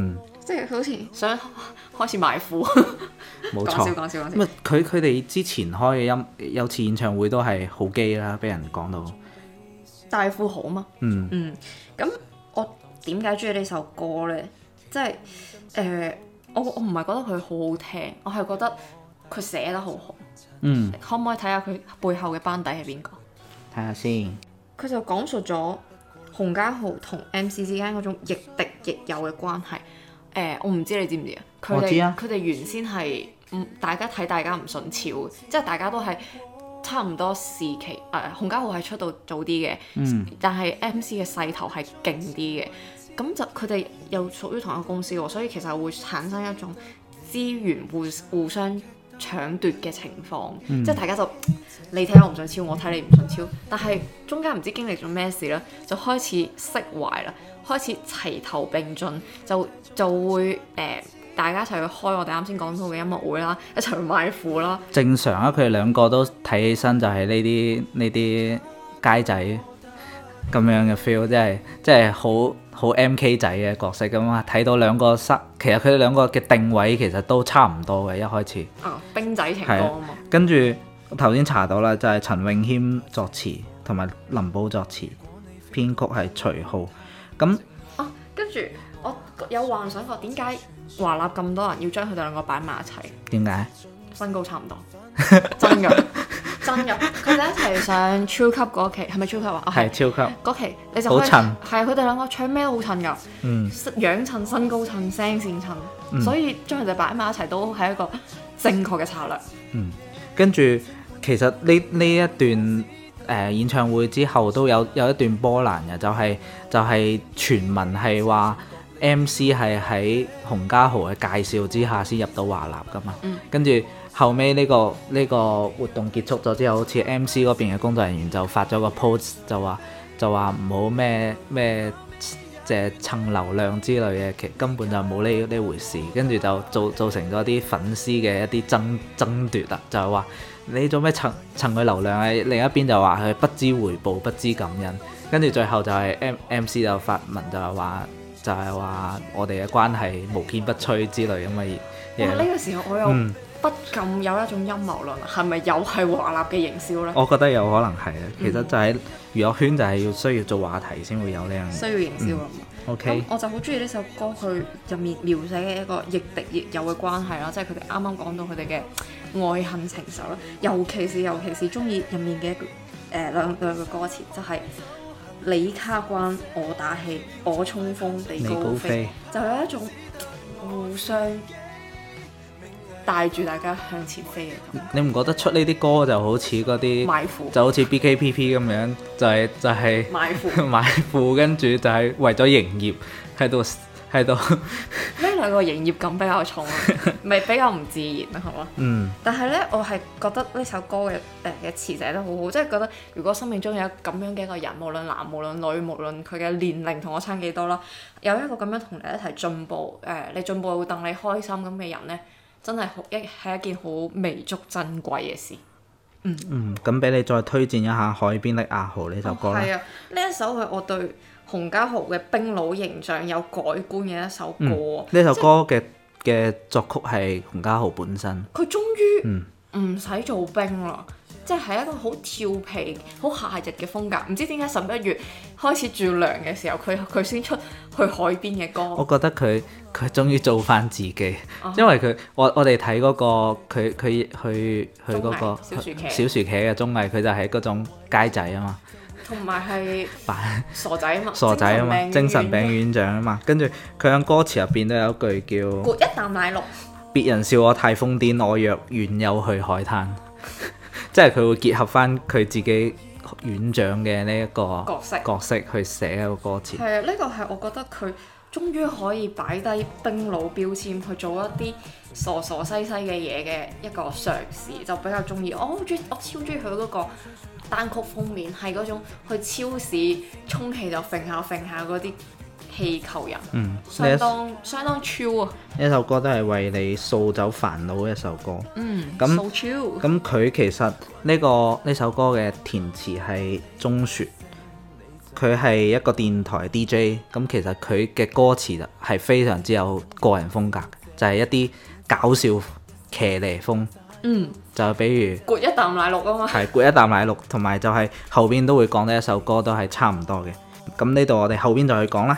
Speaker 1: 即係好似想開始賣褲。
Speaker 2: 冇
Speaker 1: 講笑
Speaker 2: 錯。
Speaker 1: 講笑講笑。
Speaker 2: 咁啊，佢佢哋之前開嘅音有次演唱會都係好基啦，俾人講到。
Speaker 1: 大富豪嘛。
Speaker 2: 嗯
Speaker 1: 嗯。咁我點解中意呢首歌咧？即係誒，我我唔係覺得佢好好聽，我係覺得佢寫得好好。
Speaker 2: 嗯，
Speaker 1: 可唔可以睇下佢背後嘅班底係邊個？
Speaker 2: 睇下先。
Speaker 1: 佢就講述咗洪家豪同 M C 之間嗰種亦敵亦友嘅關係。誒、呃，我唔知你知唔知啊？佢哋
Speaker 2: 我知啊
Speaker 1: 佢哋原先係唔大家睇大家唔順超，即係大家都係差唔多時期。誒、呃，洪家豪係出道早啲嘅，
Speaker 2: 嗯
Speaker 1: 但係 M C 嘅勢頭係勁啲嘅。咁就佢哋又屬於同一個公司喎，所以其實會產生一種資源互互相搶奪嘅情況，
Speaker 2: 嗯
Speaker 1: 即係大家就你睇我唔順超，我睇你唔順超，但係中間唔知經歷咗咩事咧，就開始釋懷啦，開始齊頭並進，就就會誒、呃、大家一齊去開我哋啱先講到嘅音樂會啦，一齊去買褲啦。
Speaker 2: 正常啊，佢哋兩個都睇起身就係呢啲呢啲街仔咁樣嘅 feel，即係即係好好 M K 仔嘅角色咁啊！睇到兩個失，其實佢哋兩個嘅定位其實都差唔多嘅，一開始。
Speaker 1: 啊，兵仔情歌
Speaker 2: 係
Speaker 1: 啊嘛。
Speaker 2: 跟住我頭先查到啦，就係、是、陳詠謙作詞，同埋林寶作詞，編曲係徐浩。咁
Speaker 1: 啊，跟住我有幻想過點解華納咁多人要將佢哋兩個擺埋一齊？
Speaker 2: 點解？
Speaker 1: 身高差唔多，真㗎真㗎。佢哋一齊上超級嗰期係咪超級啊？
Speaker 2: 係超級。
Speaker 1: 嗰期你就可以
Speaker 2: 好襯
Speaker 1: 係啊！佢哋兩個唱咩都好襯㗎，
Speaker 2: 嗯
Speaker 1: 樣襯、身高襯、聲線襯，
Speaker 2: 嗯
Speaker 1: 所以將佢哋擺埋一齊都係一個正確嘅策略。
Speaker 2: 嗯，跟住其實呢呢一段誒、呃、演唱會之後都有有一段波瀾嘅，就係、就係、傳聞係話 M C 係喺洪家豪嘅介紹之下先入到華納㗎嘛。
Speaker 1: 嗯
Speaker 2: 跟住後尾呢、呢個呢、呢個活動結束咗之後，好似 M C 嗰邊嘅工作人員就發咗個 post 就話就話唔好咩咩即係蹭流量之類嘅，其實根本就冇呢呢回事。跟住就造造成咗啲粉絲嘅一啲爭爭奪啦，就係話你做咩蹭蹭佢流量啊？另一邊就話佢不知回報、不知感恩。跟住最後就係 M M C 就發文就係話就係話我哋嘅關係無堅不摧之類咁嘅嘢。
Speaker 1: 哇！呢、個時候我又
Speaker 2: 嗯
Speaker 1: 不禁有一種陰謀論，係咪又係華納嘅營銷呢？
Speaker 2: 我覺得有可能係啊，其實就係娛樂圈就係要需要做話題先會有呢樣嘢。
Speaker 1: 需要營銷啊嘛。咁、
Speaker 2: OK，
Speaker 1: 我就好中意呢首歌，佢入面描寫嘅一個亦敵亦友嘅關係啦，即係佢哋啱啱講到佢哋嘅愛恨情仇啦，尤其是尤其是中意入面嘅一個誒、呃、兩兩句歌詞，就係、你卡關我打氣，我衝鋒你高飛，
Speaker 2: 你高飛
Speaker 1: 就有一種互相帶住大家向前飛嘅感覺。
Speaker 2: 你唔覺得出呢啲歌就好似嗰啲
Speaker 1: 買褲
Speaker 2: 就好似 B K P P 咁樣，就係、就係、
Speaker 1: 買褲
Speaker 2: 買褲，跟住就係為咗營業喺度喺度。
Speaker 1: 呢兩個營業感比較重啊，咪比較唔自然啊，係嘛？
Speaker 2: 嗯
Speaker 1: 但係咧，我係覺得呢首歌嘅誒嘅詞寫得好好，即係覺得如果生命中有咁樣嘅一個人，無論男無論女，無論佢嘅年齡同我差幾多啦，有一個咁樣同你一齊進步，誒、呃，你進步會戥你開心咁嘅人咧，真係好一係一件好彌足珍貴嘅事。
Speaker 2: 嗯，咁俾你再推薦一下《海邊的阿豪》呢首歌啦。
Speaker 1: 係啊，呢一首係我對洪家豪嘅兵佬形象有改觀嘅一首歌。
Speaker 2: 呢、嗯、首歌嘅嘅作曲係洪家豪本身。
Speaker 1: 佢終於唔使做兵啦，即係一個好調皮、好夏日嘅風格。唔知點解十一月開始轉涼嘅時候，佢佢先出去海邊嘅歌。
Speaker 2: 我覺得佢佢終於做翻自己，
Speaker 1: 哦、
Speaker 2: 因為佢我我哋睇嗰個佢佢去去嗰、嗰個
Speaker 1: 小薯茄
Speaker 2: 小薯茄嘅綜藝，佢就係嗰種街仔啊嘛。
Speaker 1: 同埋係傻仔啊嘛，
Speaker 2: 傻仔啊嘛，精神病院長啊嘛，跟住佢喺歌詞入邊都有一句叫
Speaker 1: 潑一啖奶綠，
Speaker 2: 別人笑我太瘋癲，我若遠有去海灘，即係佢會結合翻佢自己院長嘅呢一個
Speaker 1: 角色
Speaker 2: 角色去寫一個歌詞。
Speaker 1: 係啊，呢個係我覺得佢終於可以擺低兵佬標籤去做一啲傻傻西西嘅嘢嘅一個嘗試，就比較中意。我好中意，我超中意佢嗰個單曲封面，係嗰種去超市充氣就揈下揈下嗰啲氣球人，
Speaker 2: 嗯，
Speaker 1: 相當相當超啊！
Speaker 2: 呢首歌都係為你掃走煩惱嘅一首歌。
Speaker 1: 嗯，
Speaker 2: 咁
Speaker 1: so chill。
Speaker 2: 咁佢其實呢、呢個呢首歌嘅填詞係鐘雪， 佢係一個電台 D J， 咁其實佢嘅歌詞就係非常之有個人風格，就係、是、一啲搞笑騎呢風。
Speaker 1: 嗯，
Speaker 2: 就比如
Speaker 1: 攰一啖奶綠啊嘛，
Speaker 2: 係攰一啖奶綠，同埋就係後邊都會講呢一首歌都係差唔多嘅。咁呢度我哋後邊就去講啦。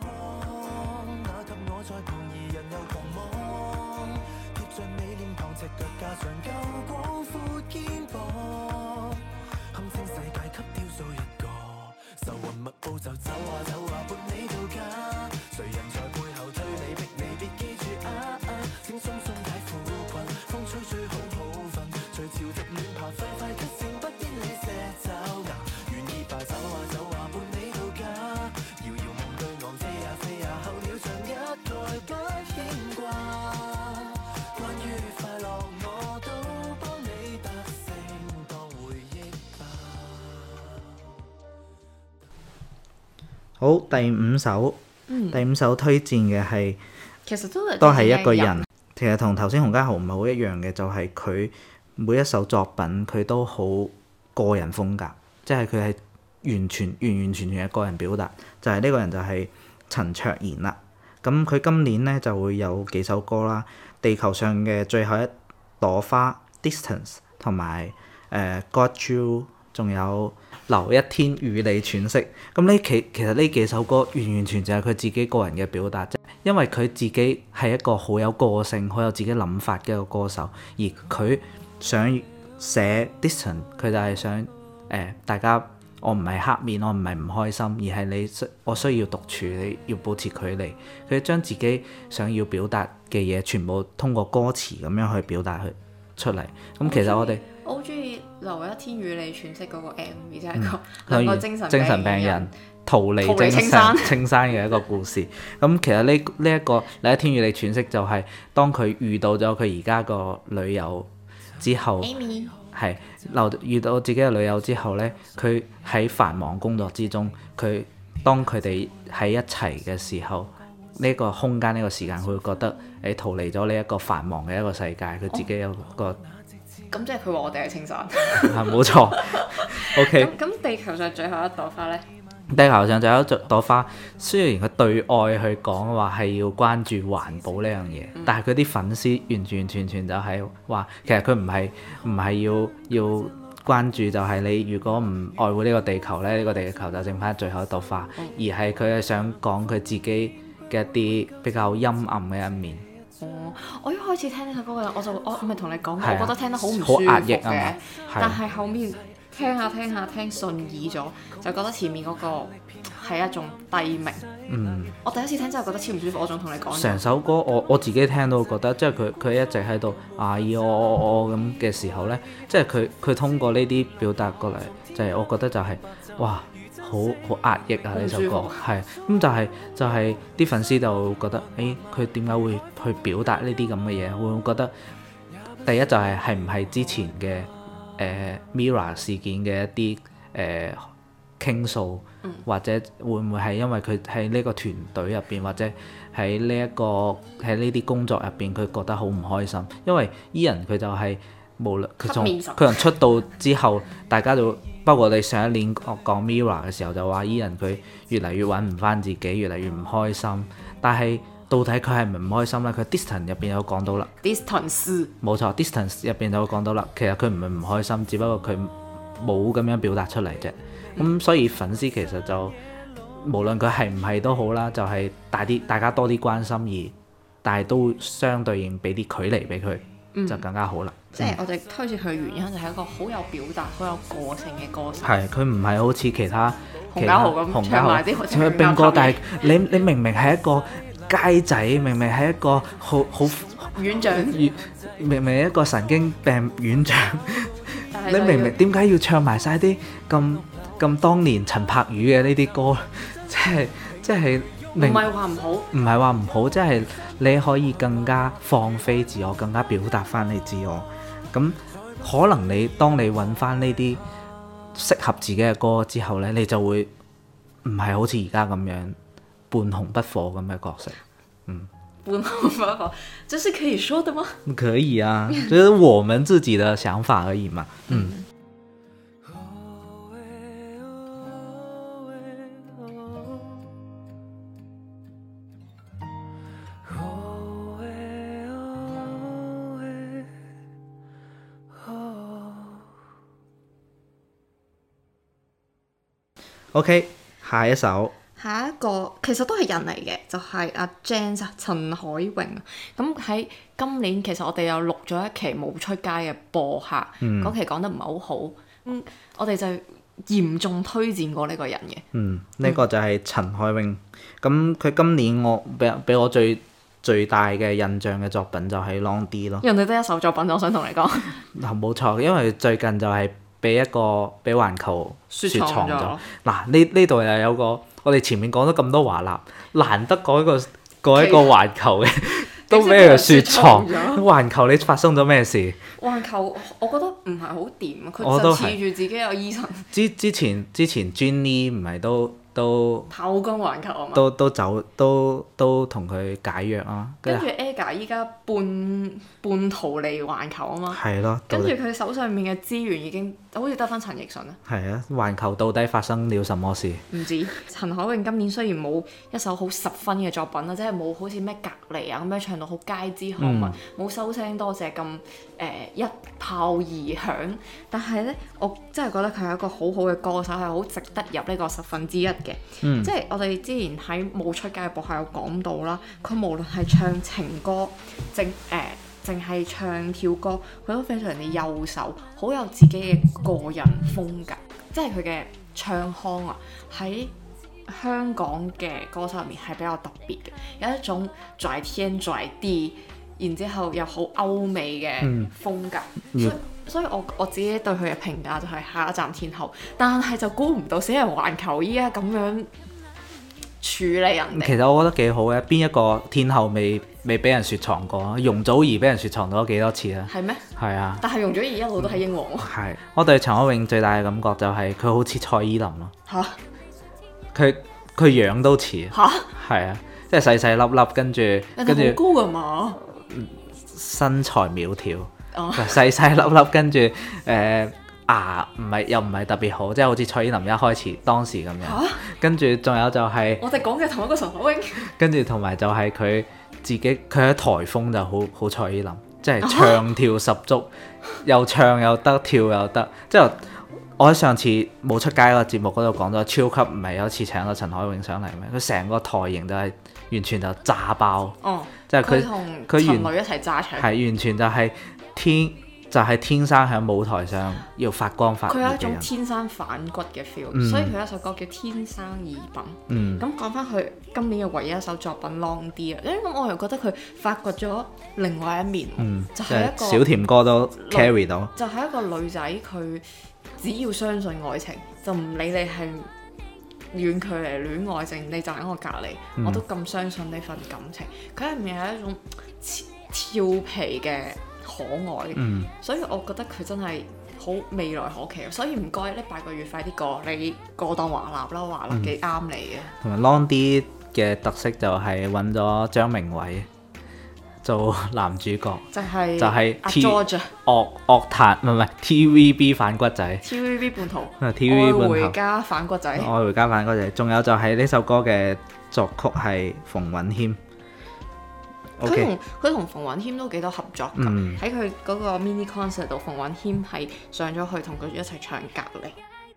Speaker 2: 好，第五首，嗯、第五首推薦嘅係，
Speaker 1: 其實都係
Speaker 2: 都係一個人，其實同頭先洪嘉豪唔係好一樣嘅，就係、是、佢每一首作品佢都好個人風格，即係佢係完全完完全全嘅個人表達。就係、是、呢個人就係陳卓賢啦。咁佢今年咧就會有幾首歌啦，《地球上嘅最後一朵花》Distance 同埋誒 Got You， 仲有留一天與你喘息。咁呢其其實呢幾首歌完完全全係佢自己個人嘅表達，因為佢自己係一個好有個性、好有自己諗法嘅一個歌手，而佢想寫 Distance， 佢就係想誒、呃、大家。我唔係黑面，我唔係唔開心，而係你需我需要獨處，你要保持距離。佢將自己想要表達嘅嘢，全部通過歌詞咁樣去表達去出嚟。咁其實我哋
Speaker 1: 我好中意留一天與你喘息嗰個 M V， 即係個、
Speaker 2: 嗯、
Speaker 1: 兩個精神
Speaker 2: 精神病人逃離精神青山青山嘅一個故事。咁其實呢呢一個留一天與你喘息就係當佢遇到咗佢而家個女友之後。
Speaker 1: Amy
Speaker 2: 係留遇到自己嘅女友之後呢，佢喺繁忙工作之中，佢當佢哋喺一齊嘅時候，呢、這個空間呢、這個時間，佢會覺得誒逃離咗呢一個繁忙嘅一個世界，佢自己有個
Speaker 1: 咁即係佢話我哋係青山，
Speaker 2: 係冇錯。OK，
Speaker 1: 咁咁地球上最後一朵花呢？
Speaker 2: 地球上就有一朵花，雖然佢對外去講話係要關注環保呢樣嘢，嗯、但係佢啲粉絲完完全全就係話，其實佢唔係唔係要要關注，就係你如果唔愛護呢個地球咧，呢、呢個地球就剩翻最後一朵花，嗯、而係佢係想講佢自己嘅一啲比較陰暗嘅一面。
Speaker 1: 哦，我一開始聽呢首歌嘅，我就我咪同你講過，
Speaker 2: 啊、
Speaker 1: 我覺得聽得好唔舒服嘅，但係後面。聽下聽下聽順耳咗，就覺得前面嗰個係一種低鳴。嗯，我第一次聽真係覺得超唔舒服。我仲同你講，
Speaker 2: 成首歌我我自己聽到覺得，即係佢佢一直喺度啊咿哦哦哦咁嘅時候呢，即係佢佢通過呢啲表達過嚟，就係、是、我覺得就係、是、哇好好壓抑啊！呢首歌係咁就係、是、就係、是、啲粉絲就覺得誒佢點解會去表達呢啲咁嘅嘢？會唔會覺得第一就係係唔係之前嘅？誒、呃、Mirror 事件嘅一啲誒傾訴，嗯、或者會唔會係因為佢喺呢個團隊入邊，或者喺呢一個喺呢啲工作入邊，佢覺得好唔開心。因為 Ian 佢就係、是、無論佢從佢從出道之後，大家就包括我哋上一年講 Mirror 嘅時候就話 Ian 佢越嚟越揾唔翻自己，越嚟越唔開心。但係到底佢係唔係唔開心咧？佢 Distance 入邊有講到啦
Speaker 1: ，Distance
Speaker 2: 冇錯 ，Distance 入邊就講到啦。其實佢唔係唔開心，只不過佢冇咁樣表達出嚟啫。咁、嗯、所以粉絲其實就無論佢係唔係都好啦，就係、是、大啲大家多啲關心而，但係都相對應俾啲距離俾佢，嗯、就更加好啦。
Speaker 1: 即係我哋推薦佢嘅原因就係一個好有表達、好有個性嘅歌手。
Speaker 2: 係佢唔係好似其他
Speaker 1: 洪嘉豪咁唱埋啲好似
Speaker 2: 兵歌，但係你你明明係一個街仔，明明係一個好好
Speaker 1: 院長，
Speaker 2: 明明係一個神經病院長，你明明點解要唱埋晒啲咁咁當年陳柏宇嘅呢啲歌？即係即係唔
Speaker 1: 係話唔好，唔
Speaker 2: 係話唔好，即係你可以更加放飛自我，更加表達翻你自我。咁可能你當你揾翻呢啲適合自己嘅歌之後呢，你就會唔係好似而家咁樣半紅不火咁嘅角色。嗯，
Speaker 1: 半紅不火，這是可以說的嗎？
Speaker 2: 可以啊，就是我們自己的想法而已嘛。嗯。 OK， 下一首。
Speaker 1: 下一個其實都係人嚟嘅，就係、是、阿 Jane 啊，陳海榮啊。咁喺今年其實我哋又錄咗一期冇出街嘅播客，嗰、嗯、期講得唔係好好，嗯，我哋就嚴重推薦過呢個人嘅。嗯，
Speaker 2: 呢、這個就係陳海榮。咁佢、嗯、今年我俾俾我最最大嘅印象嘅作品就係 Long D 咯。
Speaker 1: 人哋得一首作品，我想同你講。
Speaker 2: 嗱，冇錯，因為最近就係俾一個俾環球雪藏咗。嗱，呢呢度又有個。我哋前面講咗咁多華納，難得講一個講一個環球嘅，都俾佢雪藏。環球你發生咗咩事？
Speaker 1: 環球我覺得唔係好掂啊，佢就恃住自己有醫生。
Speaker 2: 之之前之前 Jenny 唔係都都
Speaker 1: 跑光環球啊嘛，
Speaker 2: 都都走都都同佢解約啊。
Speaker 1: 跟住 Aga 依家半半逃離環球啊嘛。係咯。跟住佢手上面嘅資源已經好似得翻陳奕迅啊。
Speaker 2: 係啊，環球到底發生了什麼事？
Speaker 1: 唔知。陳海榮今年雖然冇一首好十分嘅作品啦，即係冇好似咩隔離啊咁樣唱到好街知巷聞，冇、嗯、收聲多謝咁誒一炮而響，但係咧我真係覺得佢係一個好好嘅歌手，係好值得入呢個十分之一嘅。嗯、即係我哋之前喺冇出街嘅播客有講到啦，佢無論係唱情歌，淨誒淨係唱跳歌，佢都非常之優秀，好有自己嘅個人風格。即係佢嘅唱腔啊，喺香港嘅歌手入面係比較特別嘅，有一種拽天拽地，然之後又好歐美嘅風格。嗯、所以所以我我自己對佢嘅評價就係下一站天后，但係就估唔到死人環球依家咁樣處理人哋。其實
Speaker 2: 我覺得幾好嘅，邊一個天后未未俾人雪藏過？容祖兒俾人雪藏咗幾多次啊？
Speaker 1: 係咩？
Speaker 2: 係啊。
Speaker 1: 但係容祖兒一路都係英皇。
Speaker 2: 係、嗯，我對陳海榮最大嘅感覺就係佢好似蔡依林咯。嚇！佢佢樣都似。嚇！係啊，即係細細粒粒，跟住跟住。
Speaker 1: 人哋好高㗎嘛？
Speaker 2: 身材苗條。Oh. 細細粒粒，跟住誒、呃、牙唔係又唔係特別好，即係好似蔡依林一開始當時咁樣。啊、跟住仲有就係、是、
Speaker 1: 我哋講嘅同一個陳海榮。
Speaker 2: 跟住同埋就係佢自己，佢喺台風就好好蔡依林，即係唱跳十足，啊、又唱又得，跳又得。即係我喺上次冇出街個節目嗰度講咗，超級唔係有一次請咗陳海榮上嚟咩？佢成個台型就係完全就炸爆。哦，即係佢
Speaker 1: 同陳蕾一齊炸場。
Speaker 2: 係完全就係、是。天就係、是、天生喺舞台上要發光發熱嘅人，佢有一種
Speaker 1: 天生反骨嘅 feel，、嗯、所以佢有一首歌叫《天生異品》。咁講翻佢今年嘅唯一一首作品《Long D》啊，咁我又覺得佢發掘咗另外一面，嗯、就係一個
Speaker 2: 小甜歌都 carry 到，
Speaker 1: 就係一個女仔，佢只要相信愛情，就唔理你係遠距離戀愛症，你就喺我隔離，嗯、我都咁相信呢份感情。佢入面係一種俏皮嘅可愛，嗯、所以我覺得佢真係好未來可期，所以唔該呢八個月快啲過，你過檔華納啦，華納幾啱你嘅。
Speaker 2: 同埋 Long D 嘅特色就係揾咗張明偉做男主角，就係、是、就係 T 樂樂壇唔係唔係 T V B 反骨仔
Speaker 1: ，T V B 叛徒，
Speaker 2: T V B
Speaker 1: 愛回家反骨仔，
Speaker 2: 愛回家反骨仔，仲有就係呢首歌嘅作曲係馮允謙。
Speaker 1: 佢同佢同馮允謙都幾多合作㗎，喺佢嗰個 mini concert 度，馮允謙係上咗去同佢一齊唱隔離。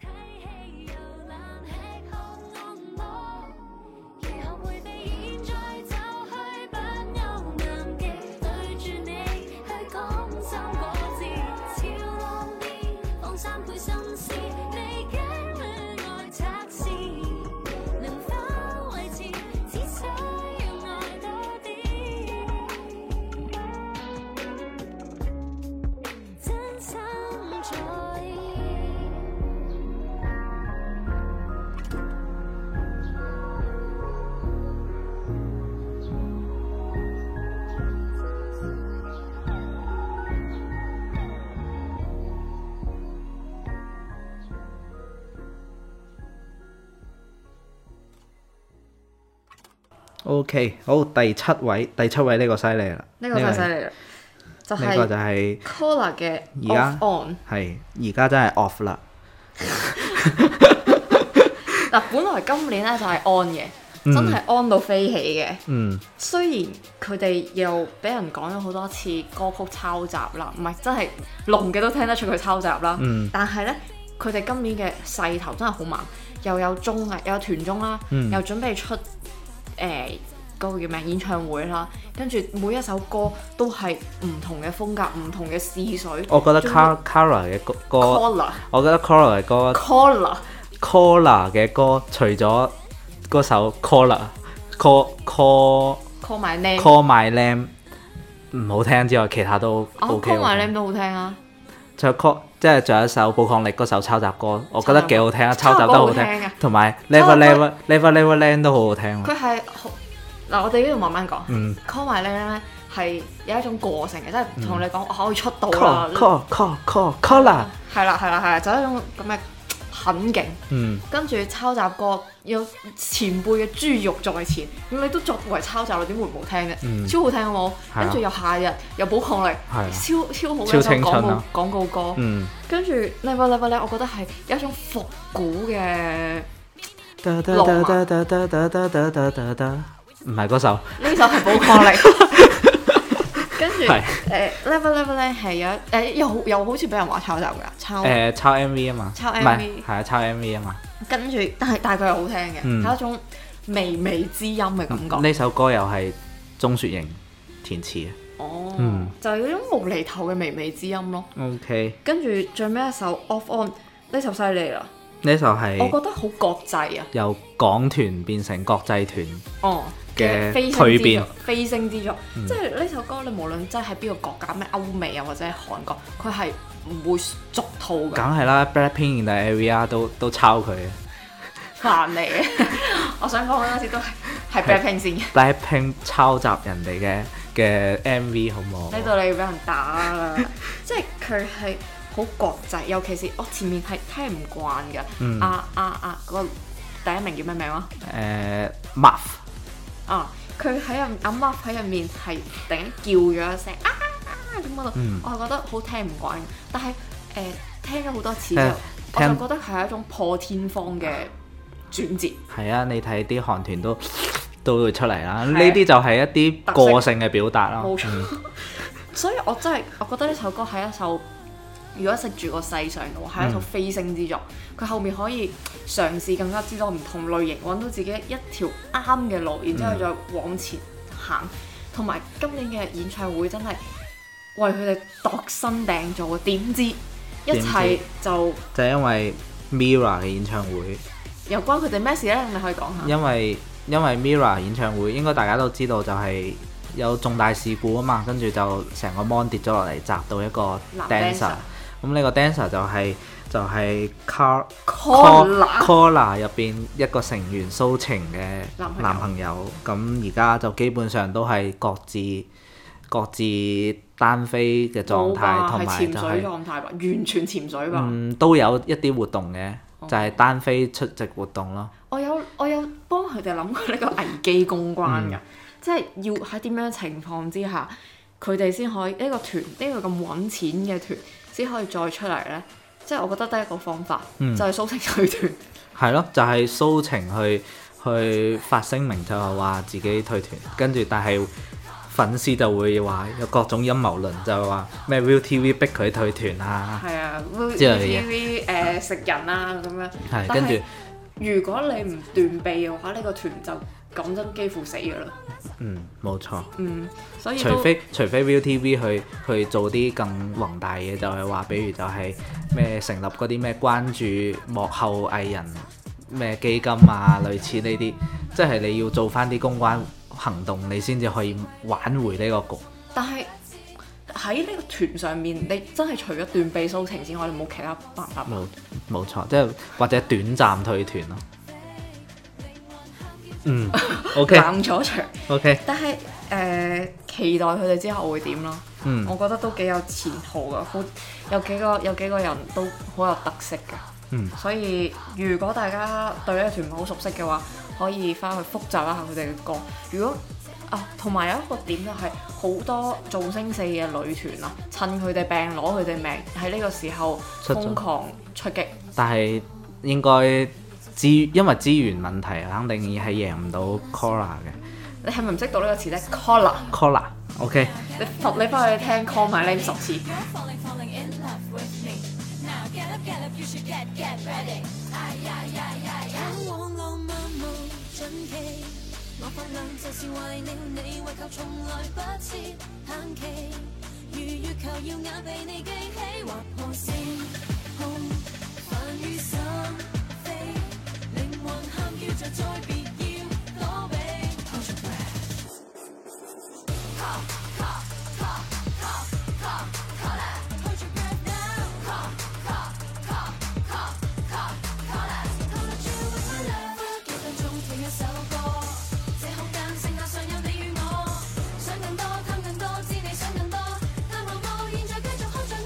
Speaker 2: O.K. 好，第七位，第七位呢個犀利啦，
Speaker 1: 呢個太犀利啦，就係呢個就係 Collar 嘅 Off On，
Speaker 2: 係而家真係 off 啦。
Speaker 1: 嗱，本來今年咧就係 on 嘅，嗯、真係 on 到飛起嘅。嗯，雖然佢哋又俾人講咗好多次歌曲抄襲啦，唔係真係聾嘅都聽得出佢抄襲啦。嗯，但係咧佢哋今年嘅勢頭真係好猛。 又有綜藝，又有團綜啦，
Speaker 2: 嗯
Speaker 1: 又準備出誒。呃嗰個叫咩演唱會啦，跟住每一首歌都係唔同嘅風格、唔同嘅試水。
Speaker 2: 我覺得 Kara 嘅歌，歌
Speaker 1: Collar
Speaker 2: 我覺得 Kara 嘅歌
Speaker 1: Collar
Speaker 2: Collar 嘅歌，除咗嗰首 Collar Call Call
Speaker 1: Call My Name
Speaker 2: Call My Name 唔好聽之外，其他都 OK。
Speaker 1: Call My Name 都好聽啊！
Speaker 2: 仲有 Call 即係仲有一首寶礦力嗰首抄襲歌，我覺得幾好聽啊！抄襲都好聽，同埋 Never Never Never Never Land 都好好聽。
Speaker 1: 佢係嗱，我哋呢度慢慢講。
Speaker 2: 嗯
Speaker 1: Call My Name 咧係有一種個性嘅，即係同你講我可以出道
Speaker 2: Call
Speaker 1: 啦。
Speaker 2: Call Call Call Collar
Speaker 1: 係啦係啦係啦，就係一種咁嘅狠勁。
Speaker 2: 嗯，
Speaker 1: 跟住抄襲歌有前輩嘅豬肉在前，咁你都作為抄襲，你點會唔好聽啫？
Speaker 2: 嗯
Speaker 1: 超好聽好冇？跟住又夏日又寶礦力，
Speaker 2: 係
Speaker 1: 超超好嘅
Speaker 2: 超
Speaker 1: 一首廣告
Speaker 2: 青春啊
Speaker 1: 廣告歌。
Speaker 2: 嗯。
Speaker 1: 跟住 Never Never 咧，我覺得係有一種復古嘅。
Speaker 2: 唔係嗰首，
Speaker 1: 呢首係寶礦力。跟住
Speaker 2: 係
Speaker 1: 誒 Never Never 咧係有誒又又好似俾人話抄襲㗎，抄
Speaker 2: 誒抄 M V 啊嘛，
Speaker 1: 抄
Speaker 2: 唔係
Speaker 1: M V
Speaker 2: 係啊抄 M V 啊嘛。
Speaker 1: 跟住但係但係佢係好聽嘅，
Speaker 2: 嗯
Speaker 1: 有一種微微之音嘅感覺。
Speaker 2: 呢首歌又係鐘雪瑩填詞嘅。
Speaker 1: 哦，
Speaker 2: 嗯
Speaker 1: 就係嗰種無厘頭嘅微微之音咯。
Speaker 2: OK，
Speaker 1: 跟住最尾一首 Off On 呢首犀利啦，
Speaker 2: 呢首係
Speaker 1: 我覺得好國際啊。
Speaker 2: 由港團變成國際團
Speaker 1: 哦
Speaker 2: 嘅
Speaker 1: 飛升之
Speaker 2: 蛻變
Speaker 1: 作，飛升之作，
Speaker 2: 嗯
Speaker 1: 即係呢首歌你無論真係喺邊個國家，咩歐美啊或者係韓國，佢係唔會俗套㗎。
Speaker 2: 梗係啦 Blackpink 定係 A V R 都都抄佢嘅。
Speaker 1: 煩嚟嘅，我想講嗰陣時都係係 Blackpink 先嘅。
Speaker 2: Blackpink 抄襲人哋嘅嘅 M V 好唔好？
Speaker 1: 呢度你要俾人打啦，即係佢係好國際，尤其是我前面係聽唔慣嘅。
Speaker 2: 嗯
Speaker 1: 啊啊啊！嗰個第一名叫咩名啊？
Speaker 2: 誒 Muff
Speaker 1: 啊！佢喺入阿 Mark 喺入面係突然間叫咗一聲啊啊咁嗰度，
Speaker 2: 嗯
Speaker 1: 我係覺得好聽唔慣。但係誒、呃、聽咗好多次之後，
Speaker 2: 誒
Speaker 1: 我
Speaker 2: 聽
Speaker 1: 就覺得係一種破天荒嘅轉折。
Speaker 2: 係啊，你睇啲韓團都都會出嚟啦，呢
Speaker 1: 係
Speaker 2: 啲就係一啲個性嘅表達啦。
Speaker 1: 冇錯，
Speaker 2: 嗯
Speaker 1: 所以我真係我覺得呢首歌係一首，如果食住個世上嘅話，係一首飛升之作。佢、後面可以嘗試更加之多唔同類型，揾到自己一條啱嘅路，然之後再往前行。同埋、今年嘅演唱會真係為佢哋度身訂造嘅，點知一切就
Speaker 2: 就係因為 Mirror 嘅演唱會，
Speaker 1: 又關佢哋咩事呢？你可以講下。
Speaker 2: 因為因為 Mirror 演唱會應該大家都知道就係有重大事故啊嘛，跟住就成個 mon 跌咗落嚟，砸到一個
Speaker 1: 男
Speaker 2: dancer。咁呢個 dancer 就係、就係、Car
Speaker 1: Collar
Speaker 2: Collar 入邊一個成員蘇晴嘅
Speaker 1: 男朋友
Speaker 2: 男朋友。咁而家就基本上都係各自各自單飛嘅狀態，同
Speaker 1: 係
Speaker 2: 埋就
Speaker 1: 潛水
Speaker 2: 係、
Speaker 1: 狀態吧，完全潛水吧。
Speaker 2: 嗯都有一啲活動嘅，
Speaker 1: 哦
Speaker 2: 就係單飛出席活動咯。
Speaker 1: 我有我有幫佢哋諗過呢個危機公關㗎，
Speaker 2: 嗯
Speaker 1: 即係要喺點樣情況之下，佢哋先可以呢、個團呢、個咁揾錢嘅團先可以再出嚟呢？即係我覺得得一個方法，
Speaker 2: 嗯
Speaker 1: 就係蘇晴退團。
Speaker 2: 係咯，就係、蘇晴去去發聲明就係話自己退團，跟住但係粉絲就會話有各種陰謀論，就係話咩 ViuTV 逼佢退團啊，
Speaker 1: 係啊
Speaker 2: 之類嘅
Speaker 1: ，ViuTV 誒食人啊咁樣。
Speaker 2: 係
Speaker 1: 但係
Speaker 2: 跟住
Speaker 1: 如果你唔斷臂嘅話，呢、個團就講真幾乎死㗎啦。
Speaker 2: 嗯冇錯，
Speaker 1: 嗯，所以都
Speaker 2: 除非除非 ViuTV 去去做啲更宏大嘅，就係話，比如就係咩成立嗰啲咩關注幕後藝人咩基金啊，類似呢啲，即係你要做翻啲公關行動，你先至可以挽回呢個局。
Speaker 1: 但係喺呢個團上面，你真係除咗斷臂蘇晴之外，你冇其他辦法。
Speaker 2: 冇冇錯，即係或者短暫退團咯。嗯，OK
Speaker 1: 冷咗場。
Speaker 2: OK，
Speaker 1: 但係誒、呃期待佢哋之後會點咯。
Speaker 2: 嗯
Speaker 1: 我覺得都幾有前途噶，好有幾個有幾個人都好有特色嘅。
Speaker 2: 嗯
Speaker 1: 所以如果大家對呢個團唔係好熟悉嘅話，可以翻去複習一下佢哋嘅歌。如果啊，同埋有一個點就係、好多造星四嘅女團啊，趁佢哋病攞佢哋命，喺呢個時候
Speaker 2: 出咗
Speaker 1: 瘋狂出擊。
Speaker 2: 但係應該資因為資源問題，肯定係贏唔到 Collar 嘅。
Speaker 1: 你係咪唔識讀呢個詞咧 Collar
Speaker 2: Collar，OK，
Speaker 1: 你罰你翻去聽 Call My Name 十次。
Speaker 3: 奇，我發亮就是為了你，為求從來不設限期，如月球耀眼被你記起，劃破星空，繁雨心飛，靈魂喊叫着再別要躲避。Hold your breath， call call call call call call it，Hold your breath now，call call call call call call it，Call it you with my love， 幾分鐘聽一首歌，這空間剩下尚有你與我，想更多貪更多，知你想更多，但我我現在繼續看着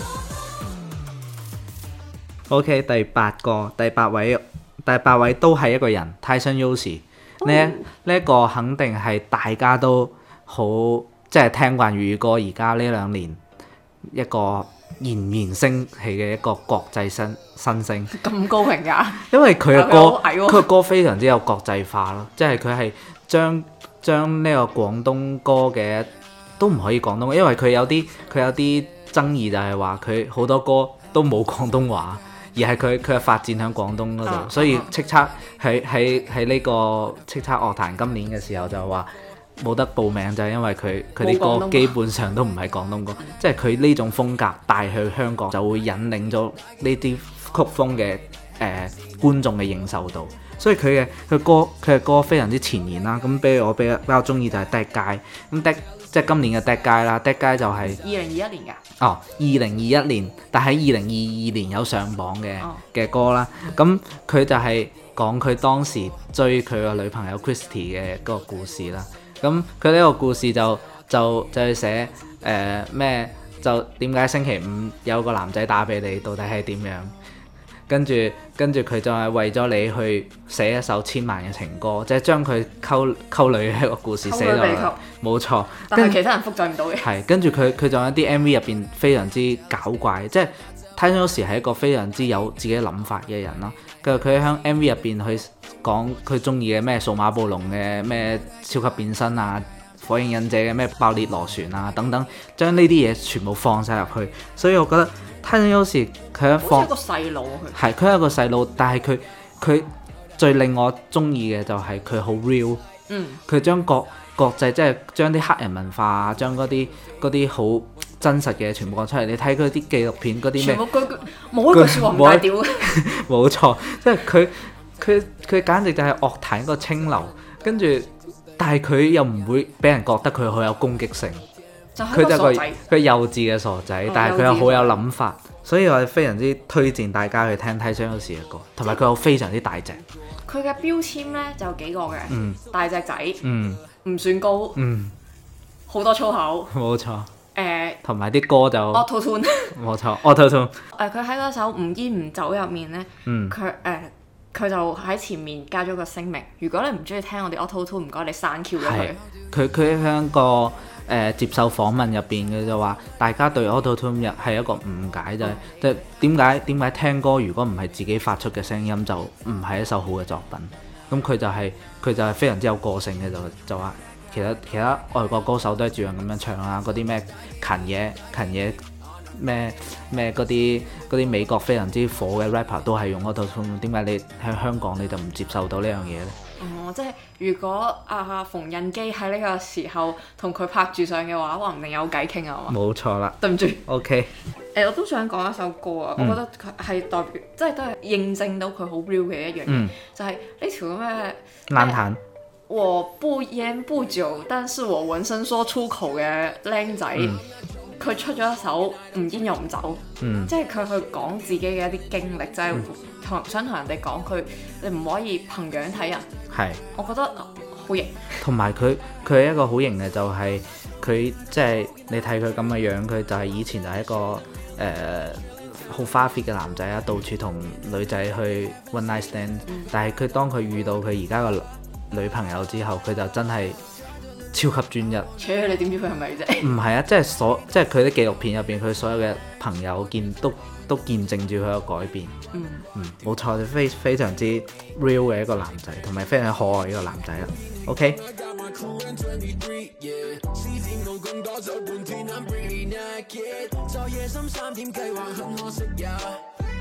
Speaker 3: 我。
Speaker 2: OK， 第八個，第八位，第八位都係一個人 Tyson Yoshi。呢呢一個肯定係大家都好即係聽慣粵語歌，而家呢兩年一個儼然升起嘅一個國際新新星。
Speaker 1: 咁高評價，
Speaker 2: 因為佢嘅歌，
Speaker 1: 佢好矮喎
Speaker 2: 佢嘅歌非常之有國際化咯，即係佢係將將呢個廣東歌嘅都唔可以廣東，因為佢有啲佢有啲爭議就係話佢好多歌都冇廣東話。而係佢佢嘅發展喺廣東嗰度，啊、所以叱咤喺喺喺呢個叱咤樂壇今年嘅時候就話冇得報名，就係因為佢佢啲歌基本上都唔係廣東歌，即係佢呢種風格帶去香港就會引領咗呢啲曲風嘅誒、呃、觀眾嘅認受度，所以佢嘅佢歌佢嘅歌非常之前沿啦。咁比如我比較比較中意就係 Dead Guy， 咁 Dead 即係今年嘅 Dead Guy 啦 ，Dead Guy 就係
Speaker 1: 二零二一年㗎。
Speaker 2: 哦，二零二一年，但喺二零二二年有上榜嘅嘅、oh. 歌啦。咁佢就係講佢當時追佢個女朋友 Christy 嘅嗰個故事啦。咁佢呢個故事就就就係寫誒咩？就點解星期五有個男仔打俾你，到底係點樣？跟住跟住佢就係為咗你去寫一首千萬嘅情歌，即係將佢溝溝女嘅一個故事寫落嚟。冇錯，
Speaker 1: 但係其他人複製唔到嘅。
Speaker 2: 係跟住佢佢仲有啲 M V 入邊非常之搞怪，即係 Tyson Yoshi係一個非常之有自己諗法嘅人啦。跟住佢喺 M V 入邊去講佢中意嘅咩數碼暴龍嘅咩超級變身啊，火影忍者嘅咩爆裂螺旋啊等等，將呢啲嘢全部放晒入去，所以我覺得。Tyson Yoshi佢一放，
Speaker 1: 好似一個細路佢，
Speaker 2: 係佢係一個細路，但係佢佢最令我中意嘅就係佢好 real，嗯，佢將國國際即係將啲黑人文化啊，將嗰啲嗰啲好真實嘅全部講出嚟。你睇佢啲紀錄片嗰啲咩，
Speaker 1: 全部句句冇一句説話唔帶屌嘅，
Speaker 2: 冇錯，即係佢佢佢簡直就係樂壇一個清流，跟住但係佢又唔會俾人覺得佢好有攻擊性。佢就係個佢幼稚嘅傻仔，哦、但係佢又好有諗法，所以我非常之推薦大家去聽 Tyson Yoshi 嘅歌，同埋佢又非常之大隻。
Speaker 1: 佢嘅標籤咧就有幾個嘅，嗯、大隻仔，唔、嗯、算高，好、嗯、多粗口，冇錯。誒，同埋啲歌就 Auto Tune，冇錯 Auto Tune。誒，佢喺嗰首唔煙唔酒入面咧，佢誒佢就喺前面加咗個聲明，如果你唔中意聽我哋 Auto Tune，唔該你刪 Q 咗佢。佢佢喺個誒、呃、接受訪問入邊嘅就話，大家對 Auto Tune 係一個誤解，就係即係點解點解聽歌如果唔係自己發出嘅聲音，就唔係一首好嘅作品。咁佢就係、是、佢就係非常之有個性嘅，就就話。其實其他外國歌手都係照樣咁樣唱啊，嗰啲咩勤嘢勤嘢咩咩嗰啲嗰啲美國非常之火嘅 rapper 都係用 Auto Tune， 點解你喺香港你就唔接受到呢樣嘢咧？哦，即係如果阿、啊、馮印基喺呢個時候同佢拍住上嘅話，話唔定有偈傾啊嘛。冇錯啦。對唔住。OK。誒、欸，我都想講一首歌啊，嗯、我覺得佢係代表，即係都係認證到佢好 real 嘅一樣嘢，嗯、就係呢條咁嘅爛彈。我不煙不酒，但是我渾身說出口嘅靚仔，佢、嗯、出咗一首唔煙又唔酒，嗯、即係佢去講自己嘅一啲經歷，就係、是、同想同人哋講佢，你唔可以憑樣睇人。係，我覺得好型。同埋佢佢係一個好型嘅，就係佢即係你睇佢咁嘅樣，佢就係以前就係一個誒好、呃、花 fit 嘅男仔啊，到處同女仔去 one night stand，、嗯、但係佢當佢遇到佢而家個女朋友之後，佢就真係超級專一。切，你點知佢係咪啫？唔係啊，即係所即係佢啲紀錄片入邊，佢所有嘅朋友見都都見證住佢嘅改變。嗯嗯，冇錯，非非常之 real 嘅一個男仔，同埋非常可愛嘅一個男仔啦。OK。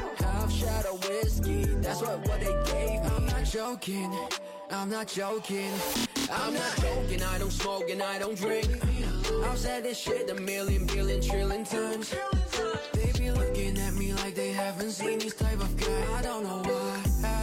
Speaker 4: Half shot of whiskey, that's what what they gave me. I'm not joking, I'm not joking, I'm not joking. I don't smoke and I don't drink. I've said this shit a million, billion, trillion times. They be looking at me like they haven't seen this type of guy. I don't know why.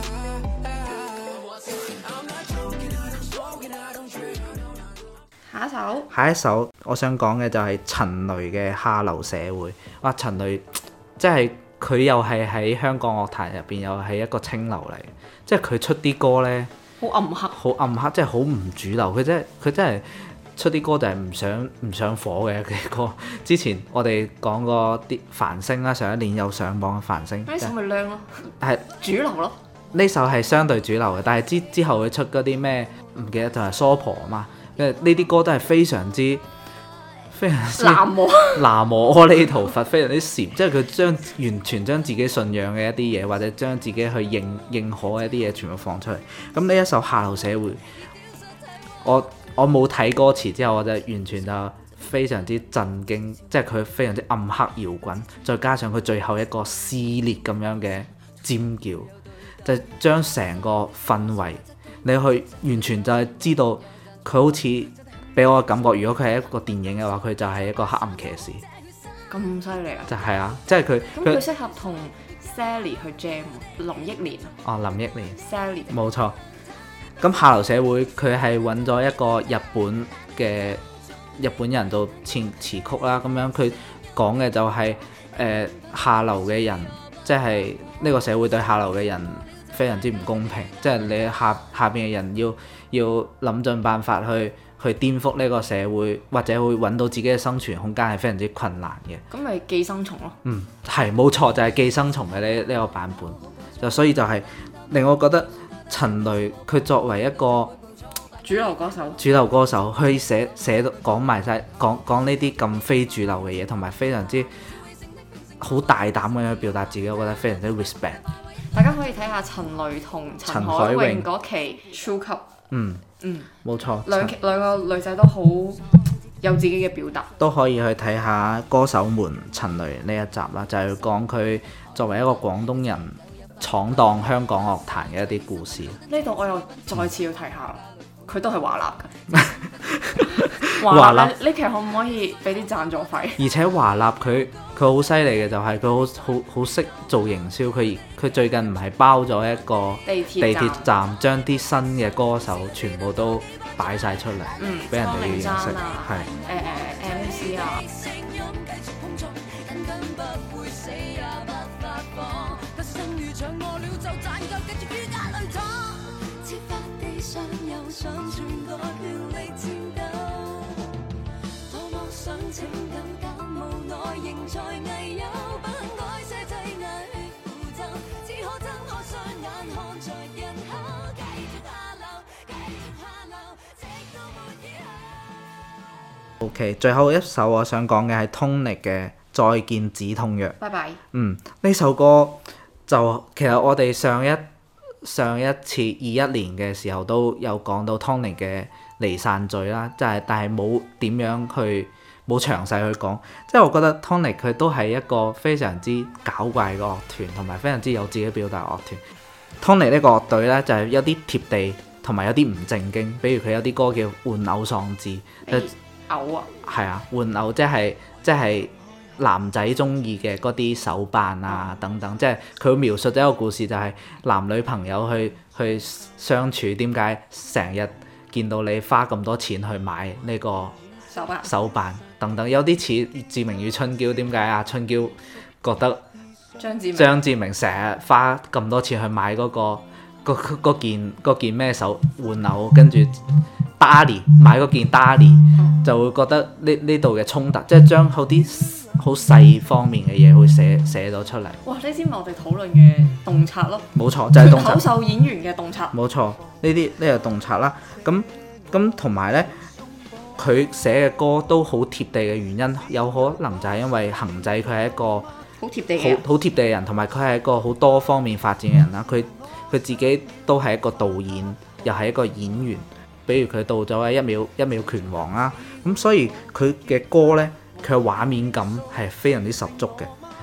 Speaker 4: I'm not joking, I don't smoke and I don't drink.
Speaker 1: 下一首，
Speaker 2: 下一首我想講嘅就係陳雷嘅《下流社會》。哇！陳雷即係佢又係喺香港樂壇入邊又係一個清流嚟，即係佢出啲歌呢，
Speaker 1: 好暗黑，
Speaker 2: 好暗黑，即係好唔主流。佢真係佢真係出啲歌就係唔上唔上火嘅嘅歌。之前我哋講過啲繁星啦，上一年有上榜嘅繁星，
Speaker 1: 呢首咪靚咯，
Speaker 2: 係
Speaker 1: 主流咯。
Speaker 2: 呢首係相對主流嘅，但係之之後佢出嗰啲咩唔記得就係疏婆啊嘛。因為呢啲歌都係非常之非常之
Speaker 1: 南無
Speaker 2: 南無阿彌陀佛，非常之禪，即係佢將完全將自己信仰嘅一啲嘢，或者將自己去認認可嘅一啲嘢全部放出嚟。咁呢一首《下流社會》，我我冇睇歌詞之後，我就完全就非常之震驚，即係佢非常之暗黑搖滾，再加上佢最後一個撕裂咁樣嘅尖叫，就將成個氛圍你去完全就係知道。佢好似俾我嘅感覺，如果佢係一個電影嘅話，佢就係一個黑暗騎士。
Speaker 1: 咁犀利啊！
Speaker 2: 就係啊，即係佢。
Speaker 1: 咁佢適合同 Sally 去 jam 林憶蓮
Speaker 2: 哦，林憶蓮。
Speaker 1: Sally。
Speaker 2: 冇錯。咁下流社會佢係揾咗一個日本嘅日本人做詞詞曲啦，咁樣佢講嘅就係、是、誒、呃、下流嘅人，即係呢個社會對下流嘅人非常之唔公平，即係你下下邊嘅人要要諗盡辦法去去顛覆呢個社會，或者會揾到自己嘅生存空間係非常之困難嘅。
Speaker 1: 咁咪寄生蟲咯。
Speaker 2: 嗯，係冇錯，就係、是、寄生蟲嘅呢呢個版本。就所以就係令我覺得陳雷佢作為一個
Speaker 1: 主流歌手，
Speaker 2: 主流歌手去寫寫到講埋晒講講呢啲咁非主流嘅嘢，同埋非常之好大膽咁樣表達自己，我覺得非常之 respect。
Speaker 1: 大家可以睇下陳雷同陳海詠嗰期超級，
Speaker 2: 嗯
Speaker 1: 嗯，
Speaker 2: 冇錯，
Speaker 1: 兩兩個女仔都好有自己嘅表達，
Speaker 2: 都可以去睇下歌手們陳雷呢一集啦，就係講佢作為一個廣東人闖蕩香港樂壇嘅一啲故事。
Speaker 1: 呢度我又再次要提下，佢都係華納嘅。
Speaker 2: 華納
Speaker 1: 呢期可唔可以俾啲贊助費？
Speaker 2: 而且華納佢佢好犀利嘅就係佢好好好識做營銷，佢佢最近唔係包咗一個
Speaker 1: 地鐵
Speaker 2: 地鐵站，將啲新嘅歌手全部都擺晒出嚟，
Speaker 1: 嗯，
Speaker 2: 俾人哋認識，
Speaker 1: 啊，
Speaker 2: 係
Speaker 1: 誒誒 M C 啊。
Speaker 2: OK， 最後一首我想講嘅係 Tony 嘅《再見止痛藥》。
Speaker 1: 拜拜。
Speaker 2: 嗯，呢首歌就其實我哋上一上一次二一年嘅時候都有講到 Tony 嘅離散序啦，即係但係冇點樣去冇詳細去講，即係我覺得 Tony 佢都係一個非常之搞怪嘅樂團，同埋非常之有自己表達樂團。Tony 呢個樂隊咧就係、是、有啲貼地，同埋有啲唔正經，比如佢有啲歌叫《玩偶喪志》，就
Speaker 1: 嘔啊！
Speaker 2: 係啊，玩偶即係即係男仔中意嘅嗰啲手辦啊等等，即係佢描述咗一個故事，就係男女朋友去去相處，點解成日見到你花咁多錢去買呢個
Speaker 1: 手辦
Speaker 2: 手辦等等，有啲似志明與春嬌，點解啊春嬌覺得
Speaker 1: 張志明
Speaker 2: 張志明成日花咁多錢去買嗰、嗰個嗰嗰件嗰件咩手玩偶，跟住 Darlie 買嗰件 Darlie、嗯、就會覺得呢呢度嘅衝突，即係將好啲好細方面嘅嘢會寫寫咗出嚟。
Speaker 1: 哇！呢啲咪我哋討論嘅洞察咯。
Speaker 2: 冇錯，就係、是、洞察。
Speaker 1: 脫口秀演員嘅洞察。
Speaker 2: 冇錯，呢啲呢個洞察啦。咁咁同埋咧，佢寫嘅歌都好貼地嘅原因，有可能就係因為恒仔佢係一個
Speaker 1: 好貼地嘅
Speaker 2: 好好貼地嘅人，同埋佢係一個好多方面發展嘅人啦。佢佢自己都係一個導演，又係一個演員。比如佢到咗《一秒一秒拳王》啦，咁所以佢嘅歌呢，佢嘅畫面感係非常之十足嘅。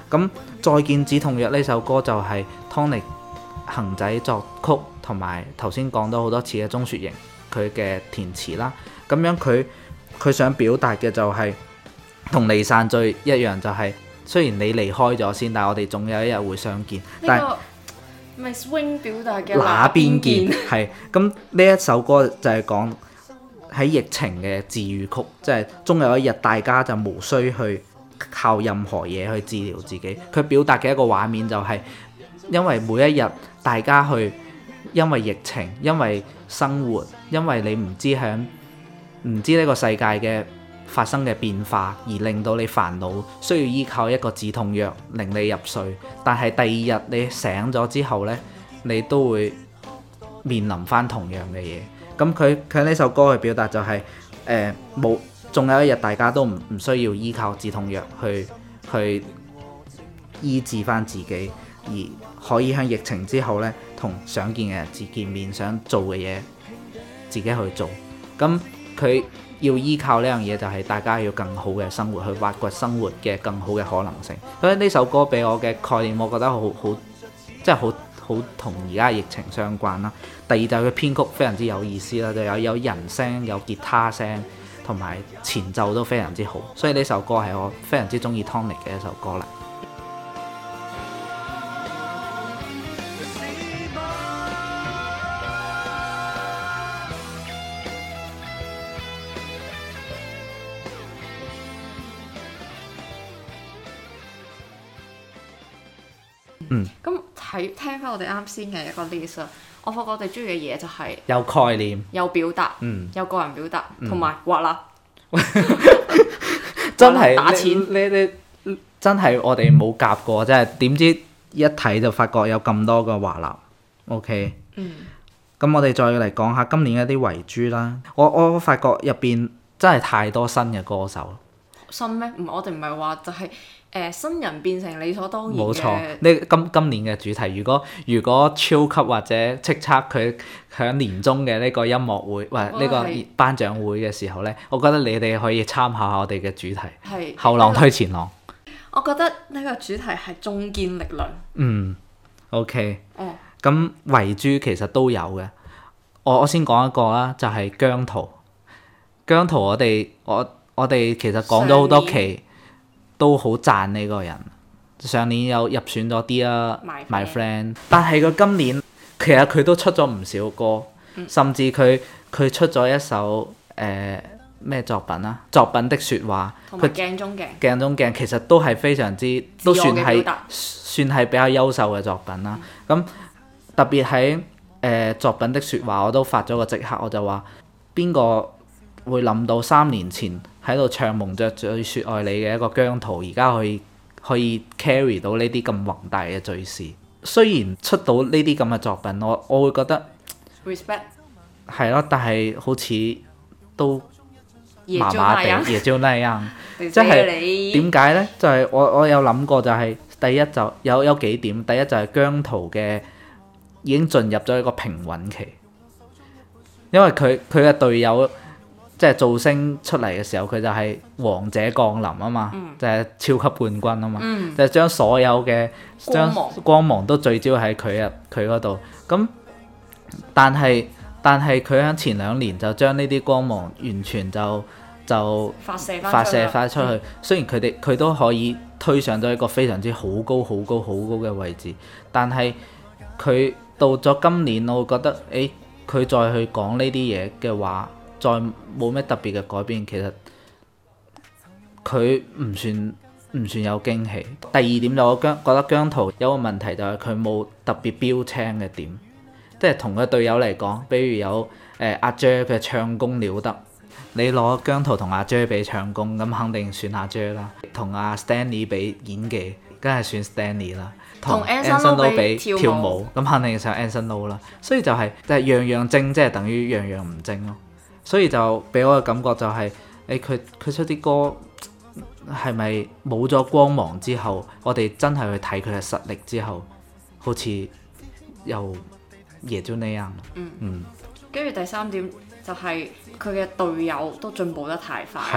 Speaker 2: 咁再見止痛藥呢首歌就係 Tonick 恒仔作曲，同埋頭先講到好多次嘅鐘雪瑩佢嘅填詞啦。咁樣佢佢想表達嘅就係同離散最一樣，就係、是、雖然你離開咗先，但係我哋總有一日會相見。但係
Speaker 1: 咪 swing 表達嘅
Speaker 2: 那邊見係咁，呢一首歌就係講喺疫情嘅治癒曲，即係終有一日大家就無需去靠任何嘢去治療自己。佢表達嘅一個畫面就係、是、因為每一日大家去因為疫情，因為生活，因為你唔知響唔知呢個世界嘅發生嘅變化，而令到你煩惱，需要依靠一個止痛藥令你入睡。但係第二日你醒咗之後呢，你都會面臨翻同樣嘅嘢。咁佢佢呢首歌嘅表達就係誒冇，仲有一日大家都唔唔需要依靠止痛藥去去醫治翻自己，而可以喺疫情之後呢，同想見嘅人自見面，想做嘅嘢自己去做。咁佢要依靠呢樣嘢，就係大家要更好嘅生活，去挖掘生活嘅更好嘅可能性。所以呢首歌俾我嘅概念，我覺得好好，即係好好同而家疫情相關啦。第二就係佢編曲非常之有意思啦，就有有人聲、有吉他聲，同埋前奏都非常之好。所以呢首歌係我非常之中意 Tonick 嘅一首歌啦。嗯，
Speaker 1: 咁睇聽翻我哋啱先嘅一個 list 啊，我發覺我哋中意嘅嘢就係
Speaker 2: 有概念、
Speaker 1: 有表達、
Speaker 2: 嗯、
Speaker 1: 有個人表達，同埋畫啦，
Speaker 2: 真係
Speaker 1: 打錢。
Speaker 2: 你你真係我哋冇夾過，真係點知一睇就發覺有咁多個畫啦。OK，
Speaker 1: 嗯，
Speaker 2: 咁我哋再嚟講下今年一啲遺珠啦。我我發覺入邊真係太多新嘅歌手。
Speaker 1: 新咩？唔，我哋唔係話就係、是、誒、呃、新人變成理所當然嘅。
Speaker 2: 冇錯，呢今今年嘅主題，如果如果超級或者叱咤佢響年終嘅呢個音樂會，或呢個頒獎會嘅時候呢，我覺得你哋可以參考下我哋嘅主題。係後浪推前浪。
Speaker 1: 我覺得呢個主題係中堅力量。
Speaker 2: 嗯 ，OK。
Speaker 1: 哦。
Speaker 2: 咁遺珠其實都有嘅，我我先講一個啦，就係、是、姜濤。姜濤我哋我。我哋其實講咗好多期，都好讚呢個人。上年有入選咗啲啦 My Friend， 但係佢今年其實佢都出咗唔少歌，嗯、甚至佢佢出咗一首誒咩、呃、作品啊？作品的説話，
Speaker 1: 佢鏡中鏡，
Speaker 2: 鏡中鏡其實都係非常之都算係算係比較優秀嘅作品啦。咁、嗯、特別喺誒、呃、作品的説話，我都發咗個即刻，我就話邊個會諗到三年前喺度唱蒙着嘴説愛你嘅一個姜濤，而家可以可以 carry 到呢啲咁宏大嘅敘事。雖然出到呢啲咁嘅作品，我我會覺得 respect 係咯，但係好似都麻麻地，也就那樣。即係點解呢？就係、是、我我有諗過、就是，就係第一就有有幾點。第一就係姜濤嘅已經進入咗一個平穩期，因為佢佢嘅隊友。即係造星出嚟嘅時候，佢就係王者降臨啊嘛，嗯、就係超級冠軍啊嘛，嗯、就係將所有嘅將光芒都聚焦喺佢入佢嗰度。咁但係但係佢喺前兩年就將呢啲光芒完全就就發射發射翻出去。嗯、雖然佢哋佢都可以推上咗一個非常之好高好高好高嘅位置，但係佢到咗今年，我會覺得誒佢再去講呢啲嘢嘅話，再冇咩特別嘅改變，其實佢唔算唔算有驚喜。第二點就我姜覺得姜濤有個問題就係佢冇特別標青嘅點，即係同佢隊友嚟講，比如有誒、呃、阿 J 佢唱功了得，你攞姜濤同阿 J 比唱功，咁肯定算阿 J 啦。同阿 Stanley 比演技，梗係算 Stanley 啦。同 Anson Lo 比跳舞，咁肯定上 Anson Lo 啦。所以就係、是、就係、是、樣樣精，即係等於樣樣唔精咯。所以就俾我嘅感覺就係、是，誒佢佢出啲歌係咪冇咗光芒之後，我哋真係去睇佢嘅實力之後，好似又也就那樣。嗯嗯。跟住第三點就係佢嘅隊友都進步得太快。係啊。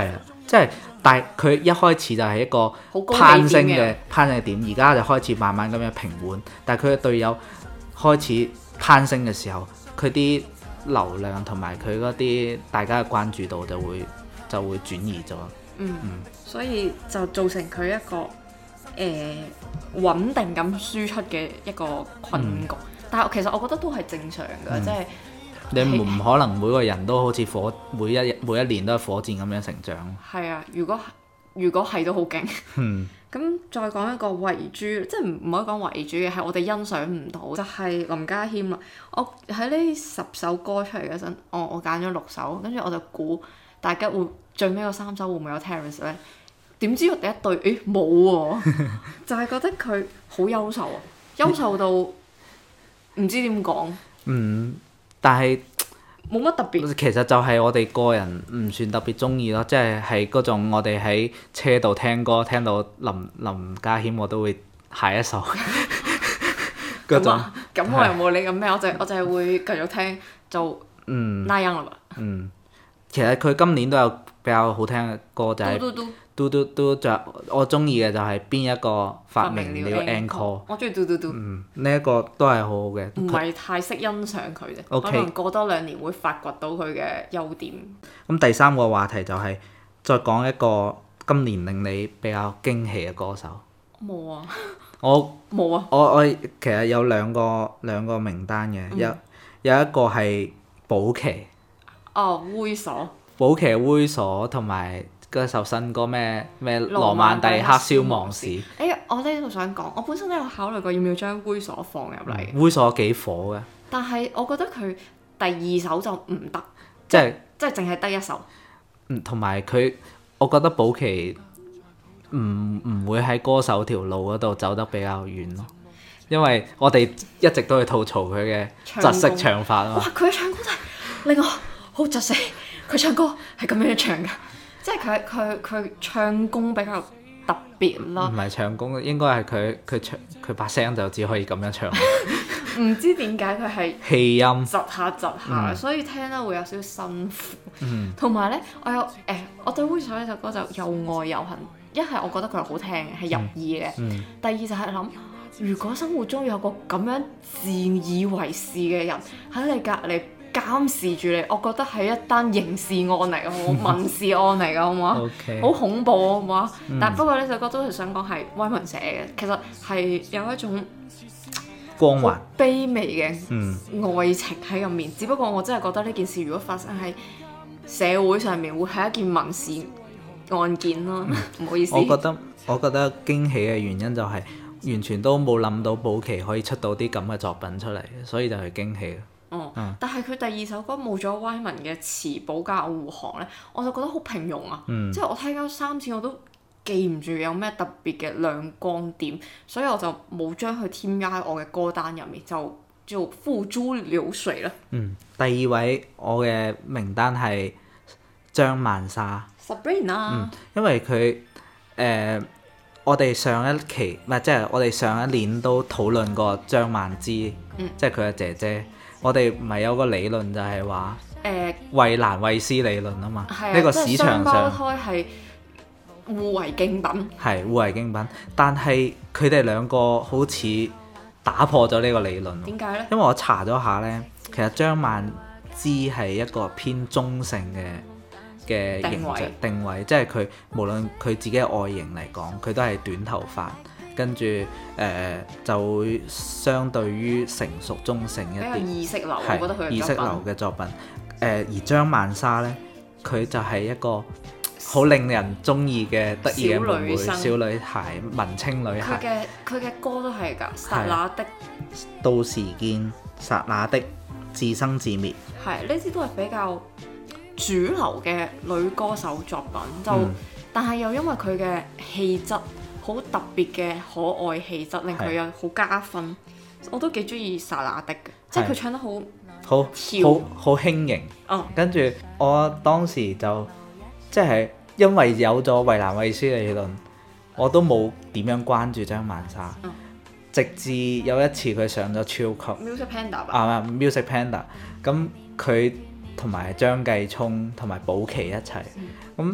Speaker 2: 即係但係佢一開始就係一個
Speaker 1: 好高
Speaker 2: 攀升嘅
Speaker 1: 起點嘅
Speaker 2: 攀升嘅點，而家就開始慢慢咁樣平緩。但係佢嘅隊友開始攀升嘅時候，佢啲流量同埋佢嗰啲大家嘅關注度就會就會轉移咗。
Speaker 1: 嗯，所以就造成佢一個誒、呃、穩定咁輸出嘅一個困局。嗯、但係其實我覺得都係正常嘅，
Speaker 2: 嗯、
Speaker 1: 即係
Speaker 2: 你唔唔可能每個人都好似火每一每一年都係火箭咁樣成長。
Speaker 1: 係啊，如果如果係都好勁。
Speaker 2: 嗯。
Speaker 1: 咁再講一個遺珠，即係唔唔可以講遺珠嘅，係我哋欣賞唔到，就係、是、林家謙啦。我喺呢十首歌出嚟嗰陣，我我揀咗六首，跟住我就估大家會最尾嗰三首會唔會有 Terence 咧？點知我第一對，誒冇喎，就係覺得佢好優秀啊，優秀到唔知點講。
Speaker 2: 嗯，但係
Speaker 1: 冇乜特別。
Speaker 2: 其實就係我哋個人唔算特別中意咯，即係係嗰種我哋喺車度聽歌，聽到林林家謙我都會下一首嗰種。
Speaker 1: 咁我又冇你咁咩，我就我就係會繼續聽就
Speaker 2: 嗯
Speaker 1: 那樣啦吧。
Speaker 2: 嗯，其實佢今年都有比較好聽嘅歌，就係
Speaker 1: 嘟嘟嘟
Speaker 2: 嘟嘟嘟，仲有我中意嘅就係邊一個發明了 encore。
Speaker 1: 我中意嘟嘟嘟。
Speaker 2: 嗯，呢一個都係好好嘅。
Speaker 1: 唔係太識欣賞佢啫，okay，可能過多兩年會發掘到佢嘅優點。
Speaker 2: 咁第三個話題就係再講一個今年令你比較驚喜嘅歌手。
Speaker 1: 冇啊！
Speaker 2: 我
Speaker 1: 冇啊！
Speaker 2: 我我其實有兩個兩個名單嘅，有、嗯、有一個係保錡。
Speaker 1: 哦，猥瑣。
Speaker 2: 保錡猥瑣同埋嗰首新歌咩咩羅曼蒂克消亡史。誒、
Speaker 1: 欸，我呢度想講，我本身都有考慮過要唔要將猥瑣放入嚟。
Speaker 2: 嗯、猥瑣幾火嘅。但
Speaker 1: 係我覺得佢第二首就唔得，
Speaker 2: 即係
Speaker 1: 即係淨係得一首。
Speaker 2: 嗯，同埋佢，我覺得保錡唔唔會喺歌手條路嗰度走得比較遠咯，因為我哋一直都去吐槽佢嘅窒息唱法啊嘛。哇！
Speaker 1: 佢嘅唱功真係令我好窒息，佢唱歌係咁樣唱㗎。即係佢佢佢唱功比較特別啦。唔係
Speaker 2: 唱功，應該係佢佢唱佢把聲就只可以咁樣唱。
Speaker 1: 唔知點解佢係
Speaker 2: 氣音
Speaker 1: 窒下窒下，
Speaker 2: 嗯、
Speaker 1: 所以聽得會有少少辛苦。同
Speaker 2: 嗯
Speaker 1: 埋咧，我有誒、欸，我對猥瑣呢首歌就又愛又恨。一係我覺得佢係好聽嘅，係入耳嘅。
Speaker 2: 嗯、
Speaker 1: 第二就係諗，如果生活中有個咁樣自以為是嘅人喺你隔離監視住你，我覺得係一單刑事案嚟嘅，好民事案嚟嘅，好唔好啊？好
Speaker 2: Okay.
Speaker 1: 恐怖啊，好唔好啊？
Speaker 2: 嗯、
Speaker 1: 但不過呢首歌都係想講係威文寫嘅，其實係有一種
Speaker 2: 光環
Speaker 1: 卑微嘅愛
Speaker 2: 嗯
Speaker 1: 情喺入面。只不過我真係覺得呢件事如果發生喺社會上面，會係一件民事案件咯。唔、嗯、好意思。
Speaker 2: 我覺得我覺得驚喜嘅原因就係完全都冇諗到保錡可以出到啲咁嘅作品出嚟，所以就係驚喜。
Speaker 1: 哦，嗯、但係佢第二首歌冇咗歪文嘅詞保加護航咧，我就覺得好平庸啊！
Speaker 2: 嗯、
Speaker 1: 即係我聽咗三次我都記唔住有咩特別嘅亮光點，所以我就冇將佢添加喺我嘅歌單入面，就就付諸流水啦。
Speaker 2: 嗯，第二位我嘅名單係張曼莎。
Speaker 1: Sabrina。
Speaker 2: 嗯，因為佢誒、呃，我哋上一期唔係即係我哋上一年都討論過張曼芝，
Speaker 1: 嗯、
Speaker 2: 即係佢嘅姐姐。我哋唔係有個理論就係話
Speaker 1: 誒
Speaker 2: 衛蘭衛斯理論啊嘛，呢、
Speaker 1: 啊、
Speaker 2: 個市場上
Speaker 1: 雙胞胎係互為競品，
Speaker 2: 係互為競品，但係佢哋兩個好似打破咗呢個理論。
Speaker 1: 點解呢？
Speaker 2: 因為我查咗下呢，其實張曼芝係一個偏中性嘅嘅形象定位，即係佢無論佢自己嘅外形嚟講，佢都係短頭髮。跟住誒、呃、就會相對於成熟中性一啲，
Speaker 1: 意識流，
Speaker 2: 係
Speaker 1: 我覺得佢
Speaker 2: 意識流嘅作品。誒、呃、而張曼莎咧，佢就係一個好令人中意嘅得意嘅妹妹、小女孩、文青女孩。
Speaker 1: 佢嘅佢嘅歌都係㗎，剎那的
Speaker 2: 到時見，剎那的自生自滅。係
Speaker 1: 呢啲都係比較主流嘅女歌手作品，就、嗯、但係又因為佢嘅氣質。好特別嘅可愛氣質，令佢有好加分。是我都幾中意薩那的嘅，即係佢唱得好
Speaker 2: 好
Speaker 1: 跳
Speaker 2: 好好輕盈。
Speaker 1: 哦、
Speaker 2: 跟住我當時就即係因為有咗衛蘭衛斯理論，我都冇點樣關注張曼莎。嗯、直至有一次佢上咗超級
Speaker 1: Music Panda 吧。
Speaker 2: 啊 Music Panda，咁佢同埋張繼聰同埋保錡一齊，咁、嗯。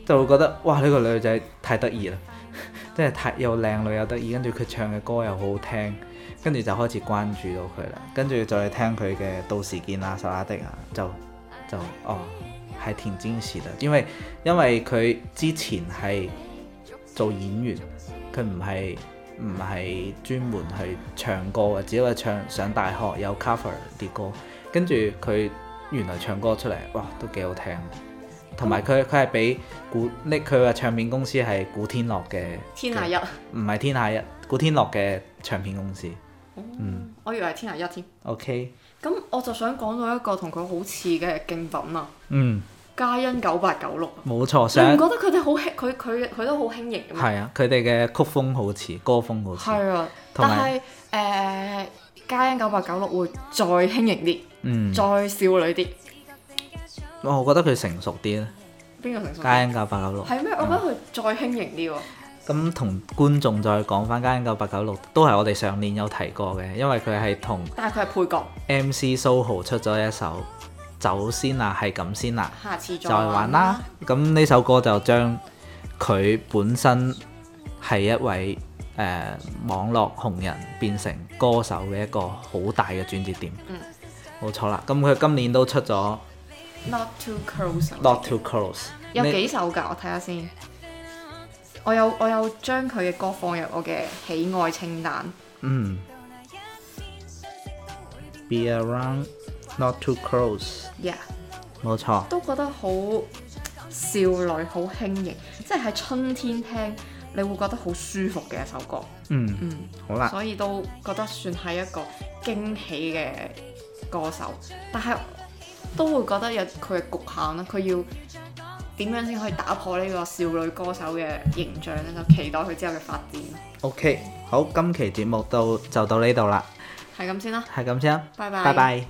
Speaker 2: 就會覺得哇呢、呢個女仔太得意啦，即係太又靚女又得意，跟住佢唱嘅歌又好好聽，跟住就開始關注到佢啦，跟住再聽佢嘅《到時見》啊、《手拉的》啊，就就哦係挺驚喜的，因為因為佢之前係做演員，佢唔係唔係專門去唱歌嘅，只不過唱上大學有 cover 啲歌，跟住佢原來唱歌出嚟，哇都幾好聽。同埋佢佢係俾古呢佢嘅唱片公司係古天樂嘅
Speaker 1: 天下一，
Speaker 2: 唔係天下一，古天樂嘅唱片公司。
Speaker 1: 哦、
Speaker 2: 嗯，
Speaker 1: 我以為係天下一添。
Speaker 2: OK。
Speaker 1: 咁我就想講到一個同佢好似嘅競品啊。
Speaker 2: 嗯。
Speaker 1: 嘉欣九八九六。
Speaker 2: 冇錯。
Speaker 1: 你唔覺得佢哋好輕？佢佢佢都好輕盈嘅咩？
Speaker 2: 係啊，佢哋嘅曲風好似，歌風好似。
Speaker 1: 係啊，但係誒嘉欣九八九六會再輕盈啲，嗯，再少女啲。
Speaker 2: 我覺得佢成熟啲咧。
Speaker 1: 邊個成熟？
Speaker 2: 嘉欣九八九六。
Speaker 1: 係咩？我覺得佢再輕盈啲喎。
Speaker 2: 咁同觀眾再講翻嘉欣九八九六，都係我哋上年有提過嘅，因為佢係同。
Speaker 1: 但係佢係配角。
Speaker 2: M C Soho 出咗一首《走先啦，係咁先啦》，
Speaker 1: 下次再
Speaker 2: 玩啦。咁呢首歌就將佢本身係一位誒、呃、網絡紅人變成歌手嘅一個好大嘅轉折點。嗯，冇錯啦。咁佢今年都出咗。
Speaker 1: Not too close。
Speaker 2: Not too close。
Speaker 1: 有幾首㗎？我睇下先。我有我有將佢嘅歌放入我嘅喜愛清單。
Speaker 2: 嗯。Be around, not too close。
Speaker 1: Yeah。
Speaker 2: 冇錯。
Speaker 1: 都覺得好少女，好輕盈，即係喺春天聽，你會覺得好舒服嘅一首歌。
Speaker 2: 嗯嗯。好啦。
Speaker 1: 所以都覺得算係一個驚喜嘅歌手，但係。都會覺得有佢嘅局限啦，佢要點樣先可以打破呢個少女歌手嘅形象咧？就期待佢之後嘅發展。
Speaker 2: OK，好，今期節目到就到呢度啦，
Speaker 1: 係咁先啦，
Speaker 2: 係咁先啦，
Speaker 1: 拜拜，
Speaker 2: 拜拜。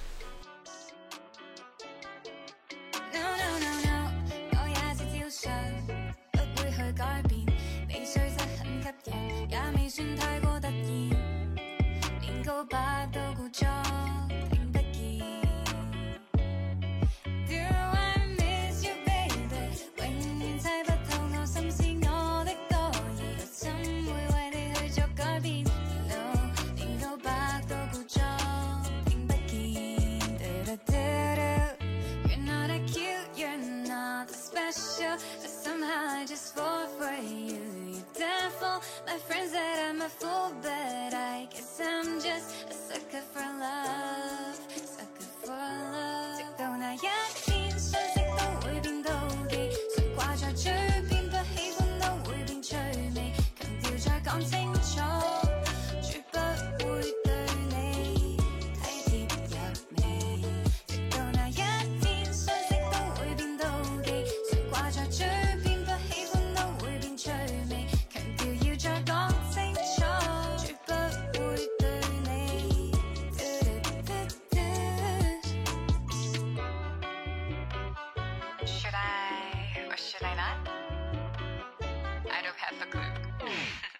Speaker 3: My friends said I'm a fool, but I guess I'm just a sucker for love, sucker for love. 直到那一天，相識都會變妒忌，常掛在嘴邊，不喜歡都會變趣味，強調再講清楚，絕不會對你體貼入微。直到那一天，相識都會變妒忌，常掛在嘴邊，不喜歡都會變趣味。再講清楚，絕不會對你。Should I or should I not? I don't have a clue.